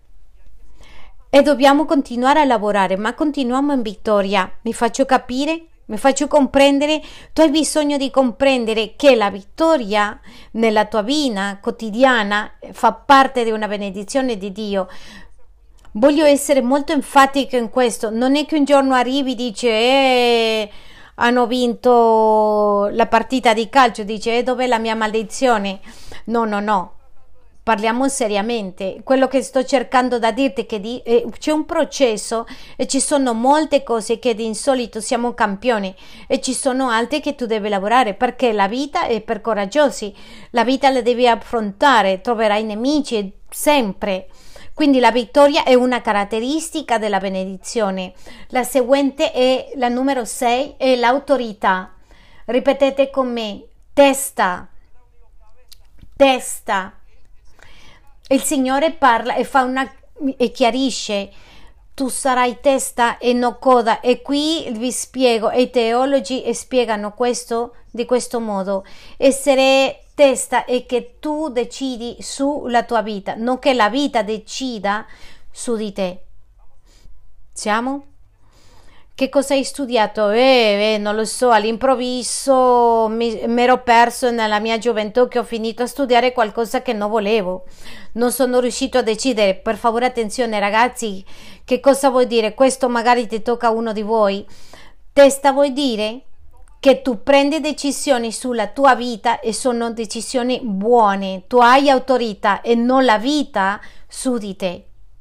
A: e dobbiamo continuare a lavorare, ma continuiamo in vittoria. Mi faccio capire? Mi faccio comprendere? Tu hai bisogno di comprendere che la vittoria nella tua vita quotidiana fa parte di una benedizione di Dio. Voglio essere molto enfatica in questo. Non è che un giorno arrivi e dici eh, hanno vinto la partita di calcio, dice eh, dov'è la mia maledizione? No, no, no. Parliamo seriamente. Quello che sto cercando da dirti è che di, eh, c'è un processo e ci sono molte cose che di insolito siamo campioni, e ci sono altre che tu devi lavorare, perché la vita è per coraggiosi, la vita la devi affrontare, troverai nemici sempre. Quindi la vittoria è una caratteristica della benedizione. La seguente è la numero sei, è l'autorità. Ripetete con me: testa, testa. Il Signore parla e fa una e chiarisce: tu sarai testa e non coda. E qui vi spiego, e i teologi spiegano questo di questo modo: essere testa è che tu decidi sulla tua vita, non che la vita decida su di te. Siamo? Che cosa hai studiato? Eh, eh, non lo so, all'improvviso mi ero perso nella mia gioventù, che ho finito a studiare qualcosa che non volevo. Non sono riuscito a decidere. Per favore, attenzione ragazzi, che cosa vuol dire? Questo magari ti tocca a uno di voi. Testa vuol dire che tu prendi decisioni sulla tua vita e sono decisioni buone. Tu hai autorità e non la vita su di te.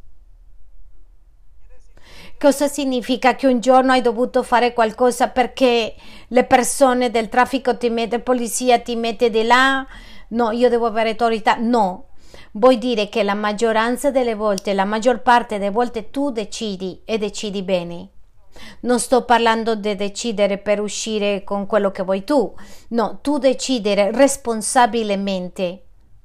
A: Cosa significa? Che un giorno hai dovuto fare qualcosa perché le persone del traffico ti mette, polizia ti mette di là? No, io devo avere autorità. No, vuol dire che la maggioranza delle volte, la maggior parte delle volte tu decidi, e decidi bene. Non sto parlando di decidere per uscire con quello che vuoi tu. No, tu decidere responsabilmente.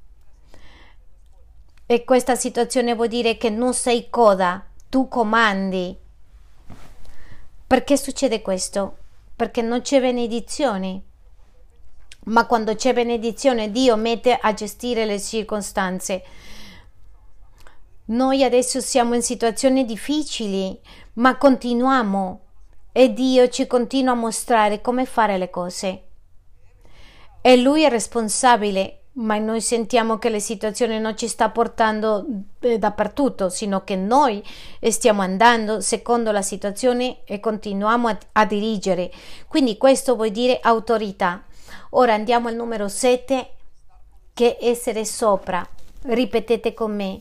A: E questa situazione vuol dire che non sei coda, tu comandi. Perché succede questo? Perché non c'è benedizione. Ma quando c'è benedizione, Dio mette a gestire le circostanze. Noi adesso siamo in situazioni difficili, ma continuiamo, e Dio ci continua a mostrare come fare le cose. E Lui è responsabile. Ma noi sentiamo che la situazione non ci sta portando eh, dappertutto, sino che noi stiamo andando secondo la situazione e continuiamo a, a dirigere. Quindi questo vuol dire autorità. Ora andiamo al numero sette, che è essere sopra. Ripetete con me,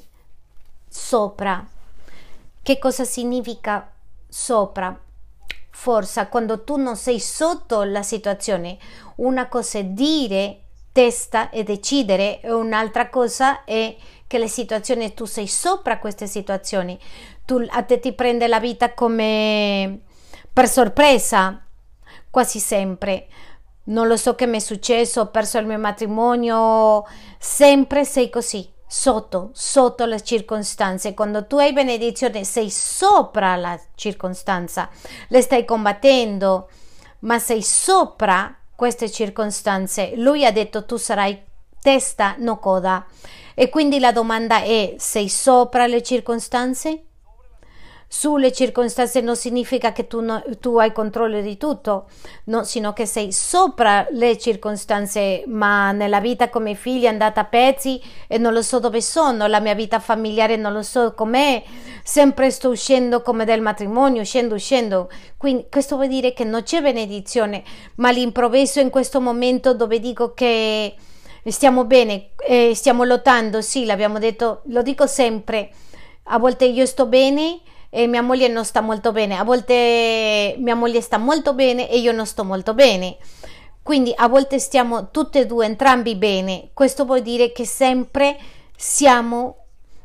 A: sopra. Che cosa significa sopra? Forza, quando tu non sei sotto la situazione. Una cosa è dire, testa e decidere, e un'altra cosa è che le situazioni, tu sei sopra queste situazioni. Tu, a te ti prende la vita come per sorpresa, quasi sempre. Non lo so che mi è successo, ho perso il mio matrimonio, sempre sei così, sotto, sotto le circostanze. Quando tu hai benedizione sei sopra la circostanza, le stai combattendo, ma sei sopra queste circostanze. Lui ha detto tu sarai testa, no coda. E quindi la domanda è: sei sopra le circostanze? Sulle circostanze non significa che tu, no, tu hai controllo di tutto, no, sino che sei sopra le circostanze. Ma nella vita come figlia è andata a pezzi e non lo so dove sono, la mia vita familiare non lo so com'è, sempre sto uscendo come del matrimonio, uscendo, uscendo. Quindi questo vuol dire che non c'è benedizione, ma all'improvviso in questo momento dove dico che stiamo bene, eh, stiamo lottando, sì, l'abbiamo detto, lo dico sempre, a volte io sto bene e mia moglie non sta molto bene, a volte mia moglie sta molto bene e io non sto molto bene, quindi a volte stiamo tutte e due, entrambi bene. Questo vuol dire che sempre siamo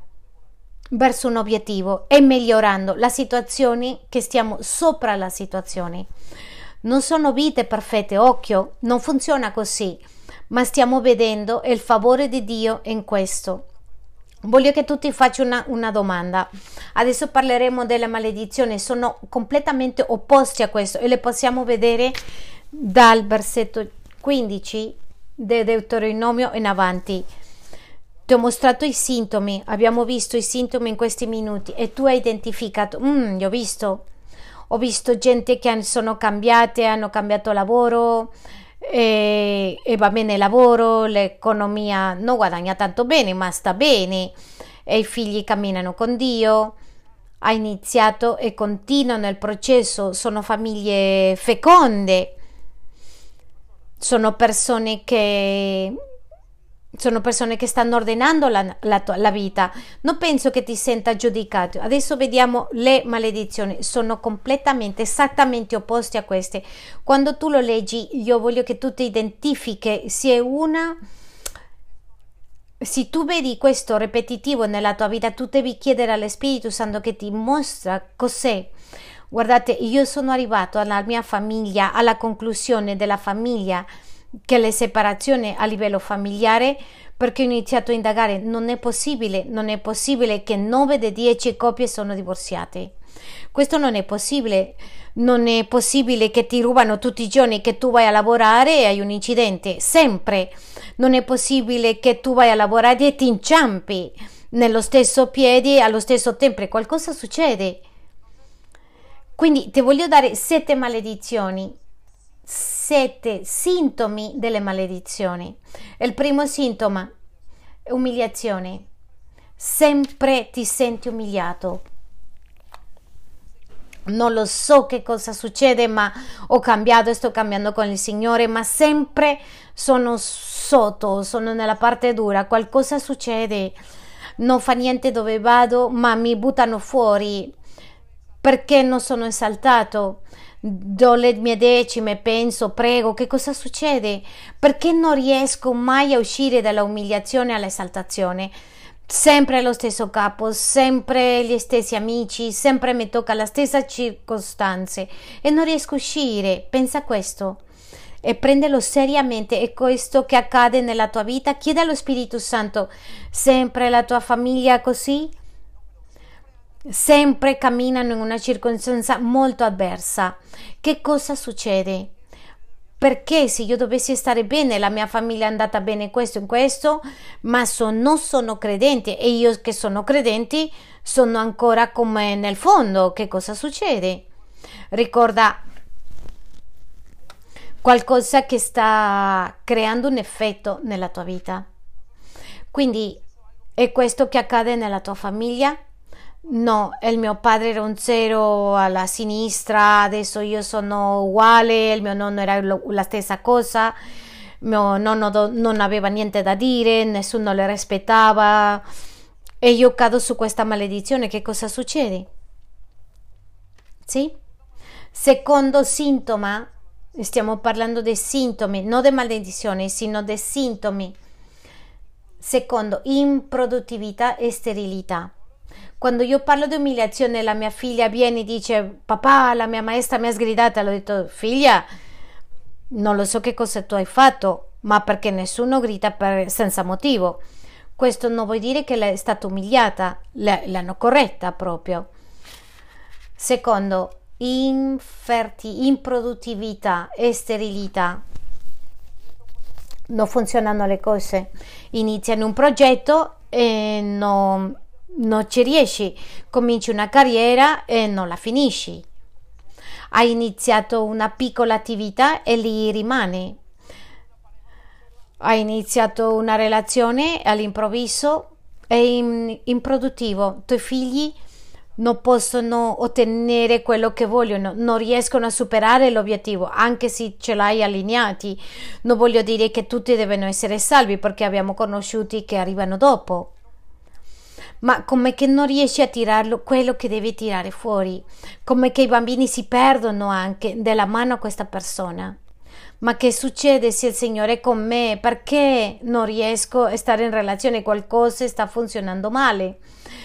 A: verso un obiettivo e migliorando la situazione, che stiamo sopra la situazione. Non sono vite perfette, occhio, non funziona così, ma stiamo vedendo il favore di Dio in questo. Voglio che tu ti faccia una, una domanda. Adesso parleremo delle maledizioni, sono completamente opposti a questo e le possiamo vedere dal versetto quindici di Deuteronomio in avanti. Ti ho mostrato i sintomi, abbiamo visto i sintomi in questi minuti e tu hai identificato, mm, io ho visto, ho visto gente che sono cambiate, hanno cambiato lavoro, E, e va bene il lavoro, l'economia non guadagna tanto bene ma sta bene, e i figli camminano con Dio, ha iniziato e continuano il processo, sono famiglie feconde, sono persone che sono persone che stanno ordinando la, la, la vita. Non penso che ti senta giudicato. Adesso vediamo le maledizioni, sono completamente esattamente opposte a queste. Quando tu lo leggi io voglio che tu ti identifichi se è una, se tu vedi questo ripetitivo nella tua vita, tu devi chiedere allo Spirito Santo che ti mostra cos'è. Guardate, io sono arrivato alla mia famiglia, alla conclusione della famiglia, che le separazioni a livello familiare, perché ho iniziato a indagare. Non è possibile, non è possibile che nove di dieci coppie sono divorziate. Questo non è possibile. Non è possibile che ti rubano tutti i giorni, che tu vai a lavorare e hai un incidente, sempre. Non è possibile che tu vai a lavorare e ti inciampi nello stesso piede allo stesso tempo, qualcosa succede. Quindi ti voglio dare sette maledizioni, sette sintomi delle maledizioni. Il primo sintomo è umiliazione. Sempre ti senti umiliato. Non lo so che cosa succede, ma ho cambiato, sto cambiando con il Signore, ma sempre sono sotto, sono nella parte dura, qualcosa succede, non fa niente dove vado, ma mi buttano fuori perché non sono esaltato. Do le mie decime, penso, prego, che cosa succede? Perché non riesco mai a uscire dall'umiliazione all'esaltazione? Sempre lo stesso capo, sempre gli stessi amici, sempre mi tocca la stessa circostanze e non riesco a uscire. Pensa a questo e prendelo seriamente. È questo che accade nella tua vita. Chiedi allo Spirito Santo: sempre la tua famiglia così? Sempre camminano in una circostanza molto avversa. Che cosa succede? Perché se io dovessi stare bene, la mia famiglia è andata bene questo e questo, ma so, non sono credente e io che sono credente sono ancora come nel fondo. Che cosa succede? Ricorda qualcosa che sta creando un effetto nella tua vita. Quindi è questo che accade nella tua famiglia? No, il mio padre era un zero alla sinistra, adesso io sono uguale, il mio nonno era lo, la stessa cosa. mio nonno do- non aveva niente da dire, nessuno le rispettava e io cado su questa maledizione. Che cosa succede? Sì? Secondo sintomo, stiamo parlando dei sintomi, non di maledizione, sino dei sintomi. Secondo, improduttività e sterilità. Quando io parlo di umiliazione, la mia figlia viene e dice: papà, la mia maestra mi ha sgridata. Le ho detto: figlia, non lo so che cosa tu hai fatto, ma perché nessuno grida per- senza motivo. Questo non vuol dire che lei è stata umiliata, l- l'hanno corretta proprio. Secondo, inferti, improduttività e sterilità. Non funzionano le cose. Iniziano un progetto e non, non ci riesci. Cominci una carriera e non la finisci. Hai iniziato una piccola attività e lì rimani. Hai iniziato una relazione e all'improvviso è in- improduttivo. I tuoi figli non possono ottenere quello che vogliono, non riescono a superare l'obiettivo, anche se ce l'hai allineati. Non voglio dire che tutti devono essere salvi, perché abbiamo conosciuti che arrivano dopo, ma come che non riesci a tirarlo quello che devi tirare fuori, come che i bambini si perdono anche della mano a questa persona. Ma che succede se il Signore è con me? Perché non riesco a stare in relazione? Qualcosa sta funzionando male.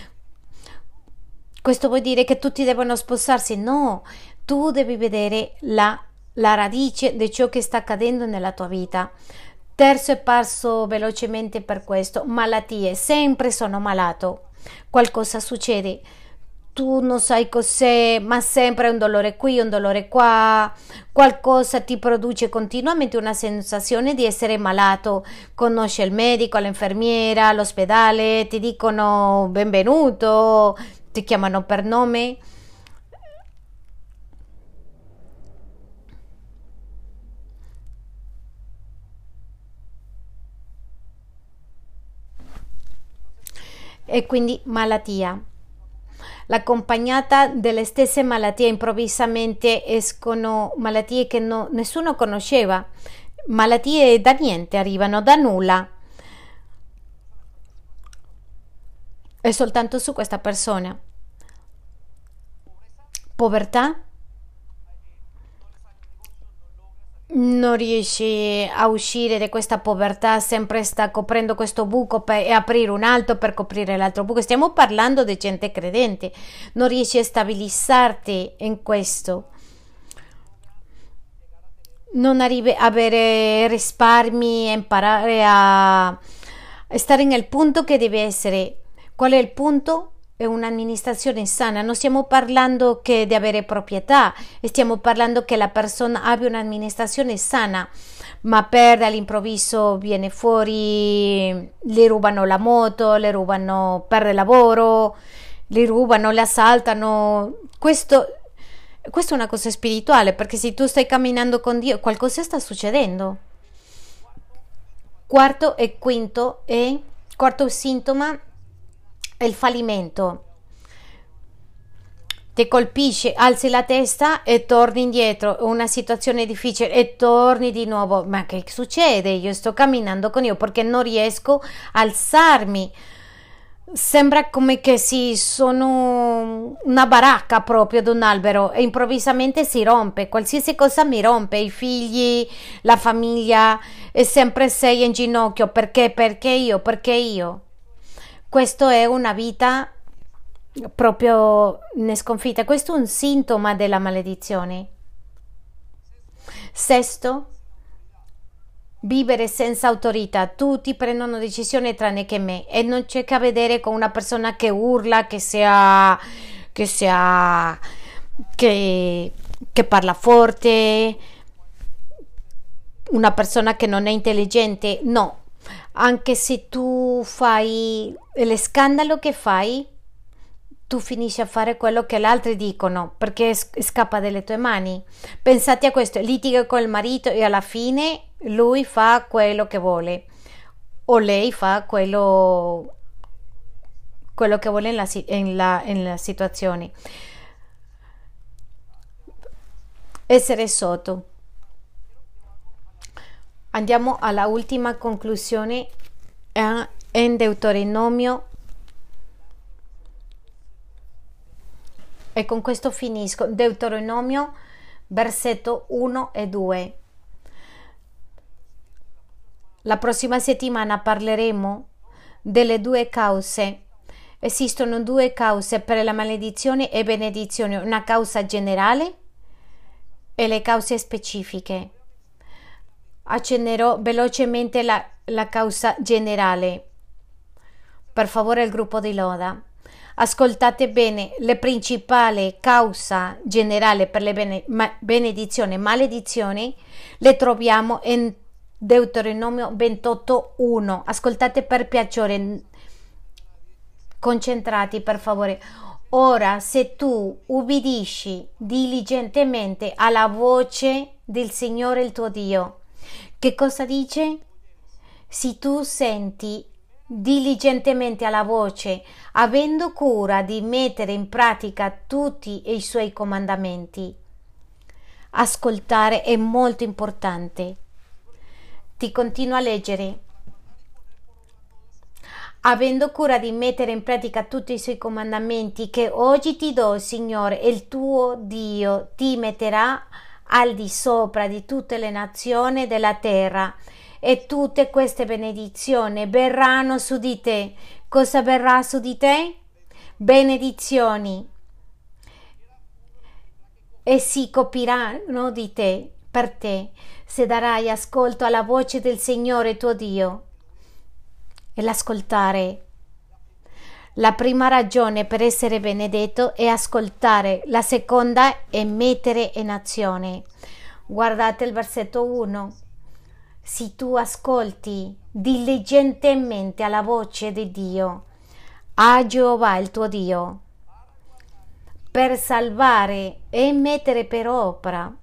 A: Questo vuol dire che tutti devono sposarsi? No, tu devi vedere la, la radice di ciò che sta accadendo nella tua vita. Terzo, e passo velocemente per questo: malattie. Sempre sono malato, qualcosa succede, tu non sai cos'è, ma sempre un dolore qui, un dolore qua, qualcosa ti produce continuamente una sensazione di essere malato. Conosci il medico, l'infermiera, l'ospedale, ti dicono benvenuto, ti chiamano per nome. E quindi malattia. L'accompagnata delle stesse malattie, improvvisamente escono malattie che no- nessuno conosceva, malattie da niente, arrivano da nulla, e soltanto su questa persona. Povertà, non riesci a uscire da questa povertà, sempre sta coprendo questo buco per, e aprire un altro per coprire l'altro buco. Stiamo parlando di gente credente, non riesci a stabilizzarti in questo, non arrivi a avere risparmi e imparare a, a stare nel punto che deve essere. Qual è il punto? È un'amministrazione sana. Non stiamo parlando che di avere proprietà, stiamo parlando che la persona abbia un'amministrazione sana, ma per all'improvviso viene fuori, le rubano la moto, le rubano per lavoro, le rubano, le assaltano. Questo, questo è una cosa spirituale, perché se tu stai camminando con Dio, qualcosa sta succedendo. Quarto e quinto è, quarto sintomo è il fallimento. Ti colpisce, alzi la testa e torni indietro, una situazione difficile e torni di nuovo. Ma che succede? Io sto camminando con Dio perché non riesco a alzarmi. Sembra come che sì, sono una baracca proprio ad un albero e improvvisamente si rompe. Qualsiasi cosa mi rompe, i figli, la famiglia, e sempre sei in ginocchio. Perché? Perché io? Perché io? Questo è una vita proprio in sconfitta. Questo è un sintomo della maledizione. Sesto, vivere senza autorità. Tutti prendono decisioni tranne che me, e non c'è che vedere con una persona che urla, che sia che sia che, che parla forte, una persona che non è intelligente. No, anche se tu fai lo scandalo che fai, tu finisci a fare quello che gli altri dicono, perché scappa dalle tue mani. Pensate a questo: litiga con il marito e alla fine lui fa quello che vuole, o lei fa quello, quello che vuole nella, nella, nella situazione. Essere sotto. Andiamo alla ultima conclusione eh, in Deuteronomio, e con questo finisco. Deuteronomio versetto uno e due. La prossima settimana parleremo delle due cause. Esistono due cause per la maledizione e benedizione, una causa generale e le cause specifiche. Accennerò velocemente la, la causa generale. Per favore, il gruppo di loda. Ascoltate bene, la principale causa generale per le bene, ma, benedizioni e maledizioni le troviamo in Deuteronomio ventotto uno. Ascoltate per piacere, concentrati per favore. Ora, se tu ubbidisci diligentemente alla voce del Signore il tuo Dio. Che cosa dice? Se tu senti diligentemente alla voce, avendo cura di mettere in pratica tutti i suoi comandamenti. Ascoltare è molto importante. Ti continuo a leggere. Avendo cura di mettere in pratica tutti i suoi comandamenti che oggi ti do, Signore, il tuo Dio ti metterà al di sopra di tutte le nazioni della terra, e tutte queste benedizioni verranno su di te. Cosa verrà su di te? Benedizioni. E si copiranno di te, per te, se darai ascolto alla voce del Signore tuo Dio. E l'ascoltare. La prima ragione per essere benedetto è ascoltare, la seconda è mettere in azione. Guardate il versetto uno. Se tu ascolti diligentemente alla voce di Dio, a Geova il tuo Dio, per salvare e mettere per opera,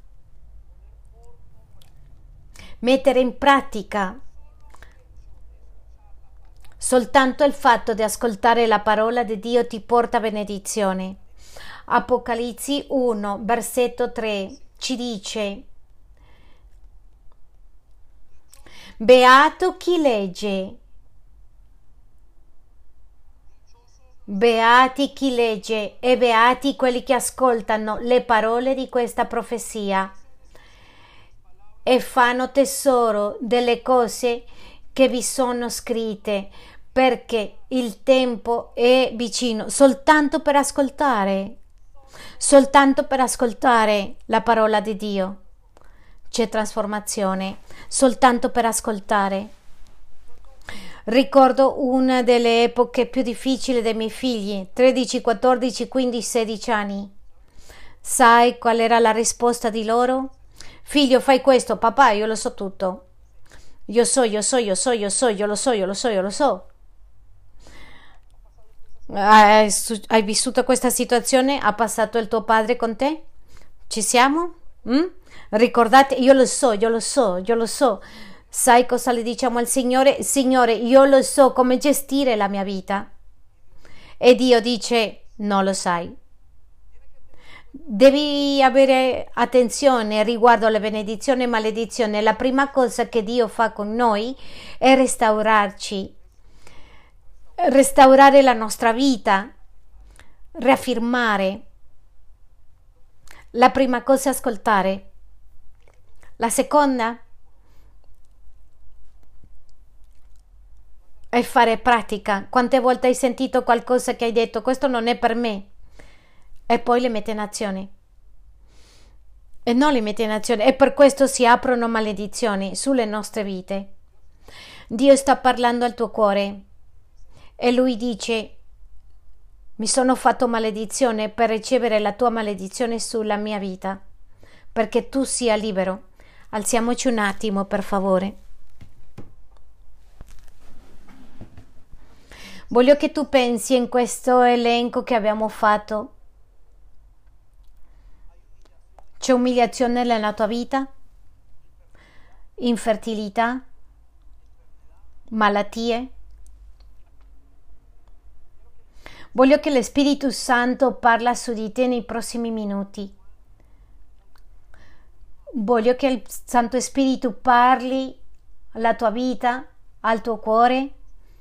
A: mettere in pratica. Soltanto il fatto di ascoltare la parola di Dio ti porta benedizione. Apocalisse uno, versetto tre, ci dice: beato chi legge, beati chi legge e beati quelli che ascoltano le parole di questa profezia e fanno tesoro delle cose che vi sono scritte, perché il tempo è vicino. Soltanto per ascoltare, soltanto per ascoltare la parola di Dio c'è trasformazione, soltanto per ascoltare. Ricordo una delle epoche più difficili dei miei figli, tredici, quattordici, quindici, sedici anni. Sai qual era la risposta di loro? Figlio, fai questo. Papà, io lo so tutto. Io so, io so, io so, io so, io lo so, io lo so, io lo so. Hai, hai vissuto questa situazione? Ha passato il tuo padre con te? Ci siamo? Mm? Ricordate, io lo so, io lo so, io lo so. Sai cosa le diciamo al Signore? Signore, io lo so come gestire la mia vita. E Dio dice: non lo sai. Devi avere attenzione riguardo alle benedizioni e maledizioni. La prima cosa che Dio fa con noi è restaurarci, restaurare la nostra vita, riaffirmare. La prima cosa è ascoltare. La seconda è fare pratica. Quante volte hai sentito qualcosa che hai detto: questo non è per me, e poi le metti in azione? E non le metti in azione, e per questo si aprono maledizioni sulle nostre vite. Dio sta parlando al tuo cuore e Lui dice: mi sono fatto maledizione per ricevere la tua maledizione sulla mia vita, perché tu sia libero. Alziamoci un attimo, per favore. Voglio che tu pensi in questo elenco che abbiamo fatto. C'è umiliazione nella tua vita? Infertilità? Malattie? Voglio che lo Spirito Santo parla su di te nei prossimi minuti. Voglio che il Santo Spirito parli alla tua vita, al tuo cuore,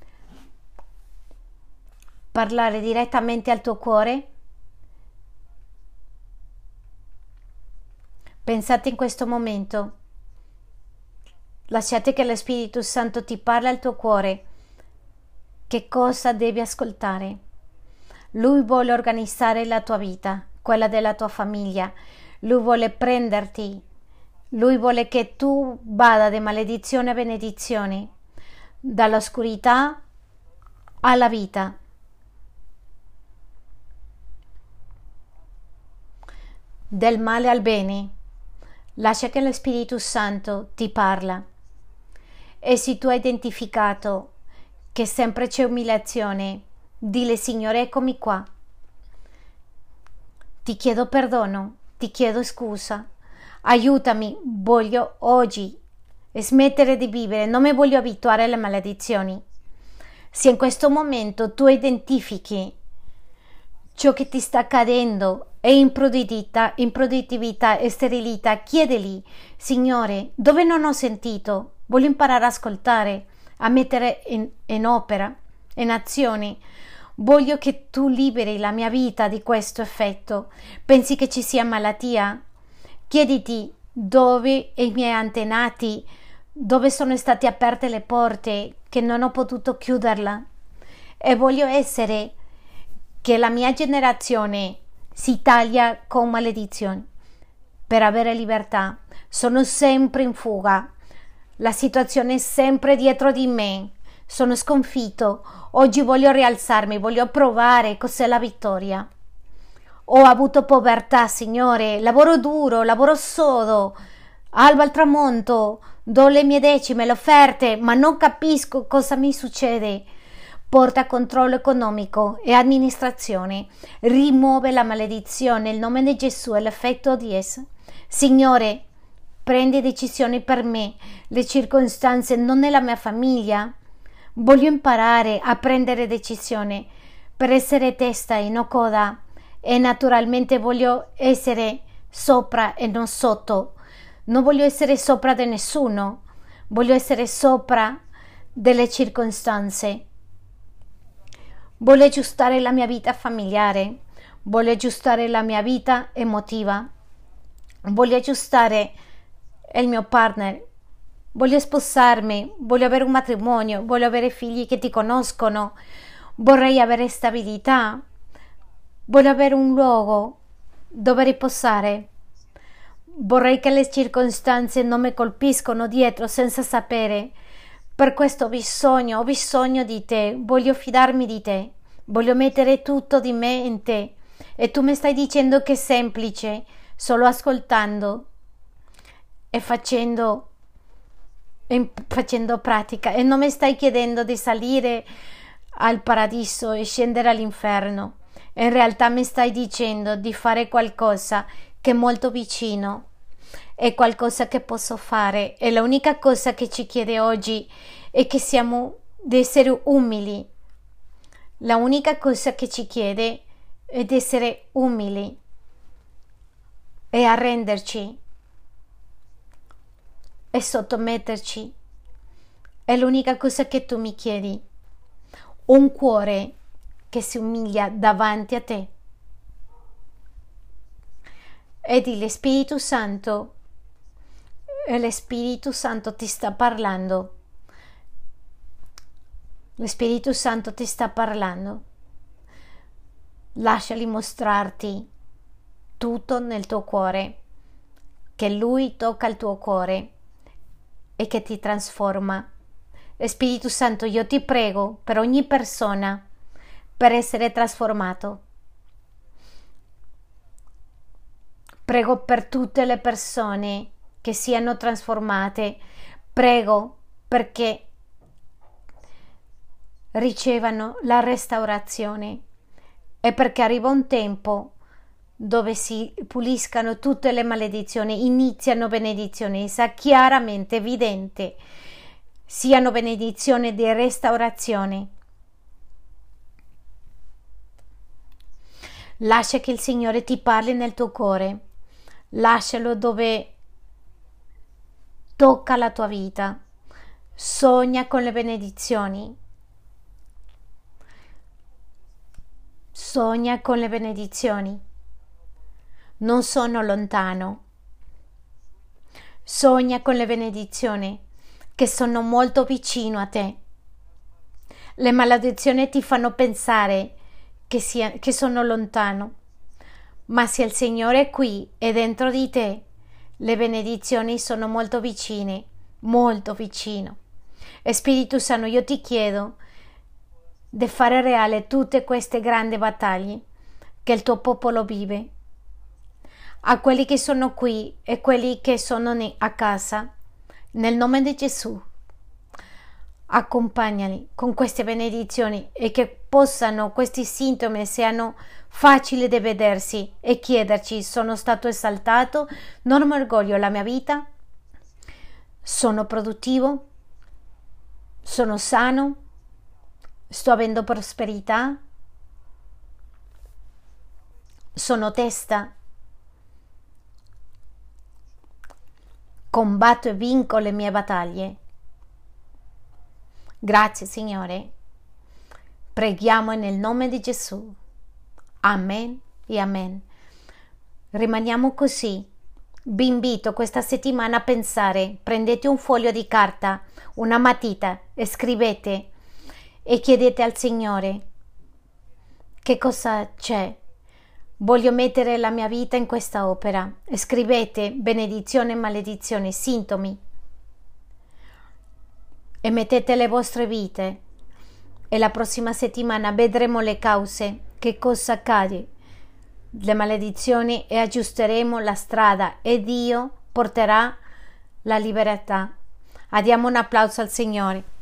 A: parlare direttamente al tuo cuore. Pensate in questo momento, lasciate che lo Spirito Santo ti parli al tuo cuore. Che cosa devi ascoltare? Lui vuole organizzare la tua vita, quella della tua famiglia. Lui vuole prenderti. Lui vuole che tu vada da maledizione a benedizione, dall'oscurità alla vita. Del male al bene. Lascia che lo Spirito Santo ti parla. E se tu hai identificato che sempre c'è umiliazione, dile: Signore, eccomi qua. Ti chiedo perdono, ti chiedo scusa. Aiutami, voglio oggi smettere di vivere, non mi voglio abituare alle maledizioni. Se in questo momento tu identifichi ciò che ti sta accadendo è improduttività, improduttività e sterilità, chiedili: Signore, dove non ho sentito, voglio imparare ad ascoltare, a mettere in, in opera, in azione. Voglio che tu liberi la mia vita di questo effetto. Pensi che ci sia malattia? Chiediti dove i miei antenati, dove sono state aperte le porte che non ho potuto chiuderla. E voglio essere che la mia generazione si taglia con maledizioni per avere libertà. Sono sempre in fuga, la situazione è sempre dietro di me, sono sconfitto. Oggi voglio rialzarmi, voglio provare cos'è la vittoria. Ho avuto povertà, Signore, lavoro duro, lavoro sodo, alba al tramonto, do le mie decime, le offerte, ma non capisco cosa mi succede. Porta controllo economico e amministrazione, rimuove la maledizione nel nome di Gesù e l'effetto di essa. Signore, prendi decisioni per me, le circostanze non nella mia famiglia. Voglio imparare a prendere decisioni per essere testa e non coda, e naturalmente voglio essere sopra e non sotto. Non voglio essere sopra di nessuno, voglio essere sopra delle circostanze. Voglio aggiustare la mia vita familiare, voglio aggiustare la mia vita emotiva, voglio aggiustare il mio partner, voglio sposarmi, voglio avere un matrimonio, voglio avere figli che ti conoscono, vorrei avere stabilità, voglio avere un luogo dove riposare, vorrei che le circostanze non mi colpiscono dietro senza sapere. Per questo ho bisogno, ho bisogno di te, voglio fidarmi di te, voglio mettere tutto di me in te. E tu mi stai dicendo che è semplice, solo ascoltando e facendo, e facendo pratica. E non mi stai chiedendo di salire al paradiso e scendere all'inferno. In realtà mi stai dicendo di fare qualcosa che è molto vicino. È qualcosa che posso fare, e l'unica cosa che ci chiede oggi è che siamo di essere umili. La unica cosa che ci chiede è di essere umili e arrenderci e sottometterci. È l'unica cosa che tu mi chiedi, un cuore che si umilia davanti a te. E di Spirito Santo, e lo Spirito Santo ti sta parlando. Lo Spirito Santo ti sta parlando. Lasciali mostrarti tutto nel tuo cuore, che Lui tocca il tuo cuore e che ti trasforma. Spirito Santo, io ti prego per ogni persona per essere trasformato. Prego per tutte le persone che siano trasformate. Prego perché ricevano la restaurazione e perché arriva un tempo dove si puliscano tutte le maledizioni, iniziano benedizioni, sia chiaramente evidente, siano benedizioni di restaurazione. Lascia che il Signore ti parli nel tuo cuore, lascialo dove tocca la tua vita, Sogna con le benedizioni. Sogna con le benedizioni. Non sono lontano. Sogna con le benedizioni che sono molto vicino a te. Le maledizioni ti fanno pensare che, sia, che sono lontano, ma se il Signore è qui e dentro di te, le benedizioni sono molto vicine, molto vicino. E Spirito Santo, io ti chiedo di fare reale tutte queste grandi battaglie che il tuo popolo vive. A quelli che sono qui e quelli che sono a casa, nel nome di Gesù, accompagnali con queste benedizioni e che possano questi sintomi siano facili da vedersi e chiederci: sono stato esaltato, non mi orgoglio la mia vita, sono produttivo, sono sano, sto avendo prosperità, sono testa, combatto e vinco le mie battaglie. Grazie Signore, preghiamo nel nome di Gesù. Amen e amen. Rimaniamo così. Vi invito questa settimana a pensare, prendete un foglio di carta, una matita e scrivete e chiedete al Signore: che cosa c'è? Voglio mettere la mia vita in questa opera. E scrivete benedizione e maledizione, sintomi, e mettete le vostre vite, e la prossima settimana vedremo le cause, che cosa accade, le maledizioni, e aggiusteremo la strada e Dio porterà la libertà. Diamo un applauso al Signore.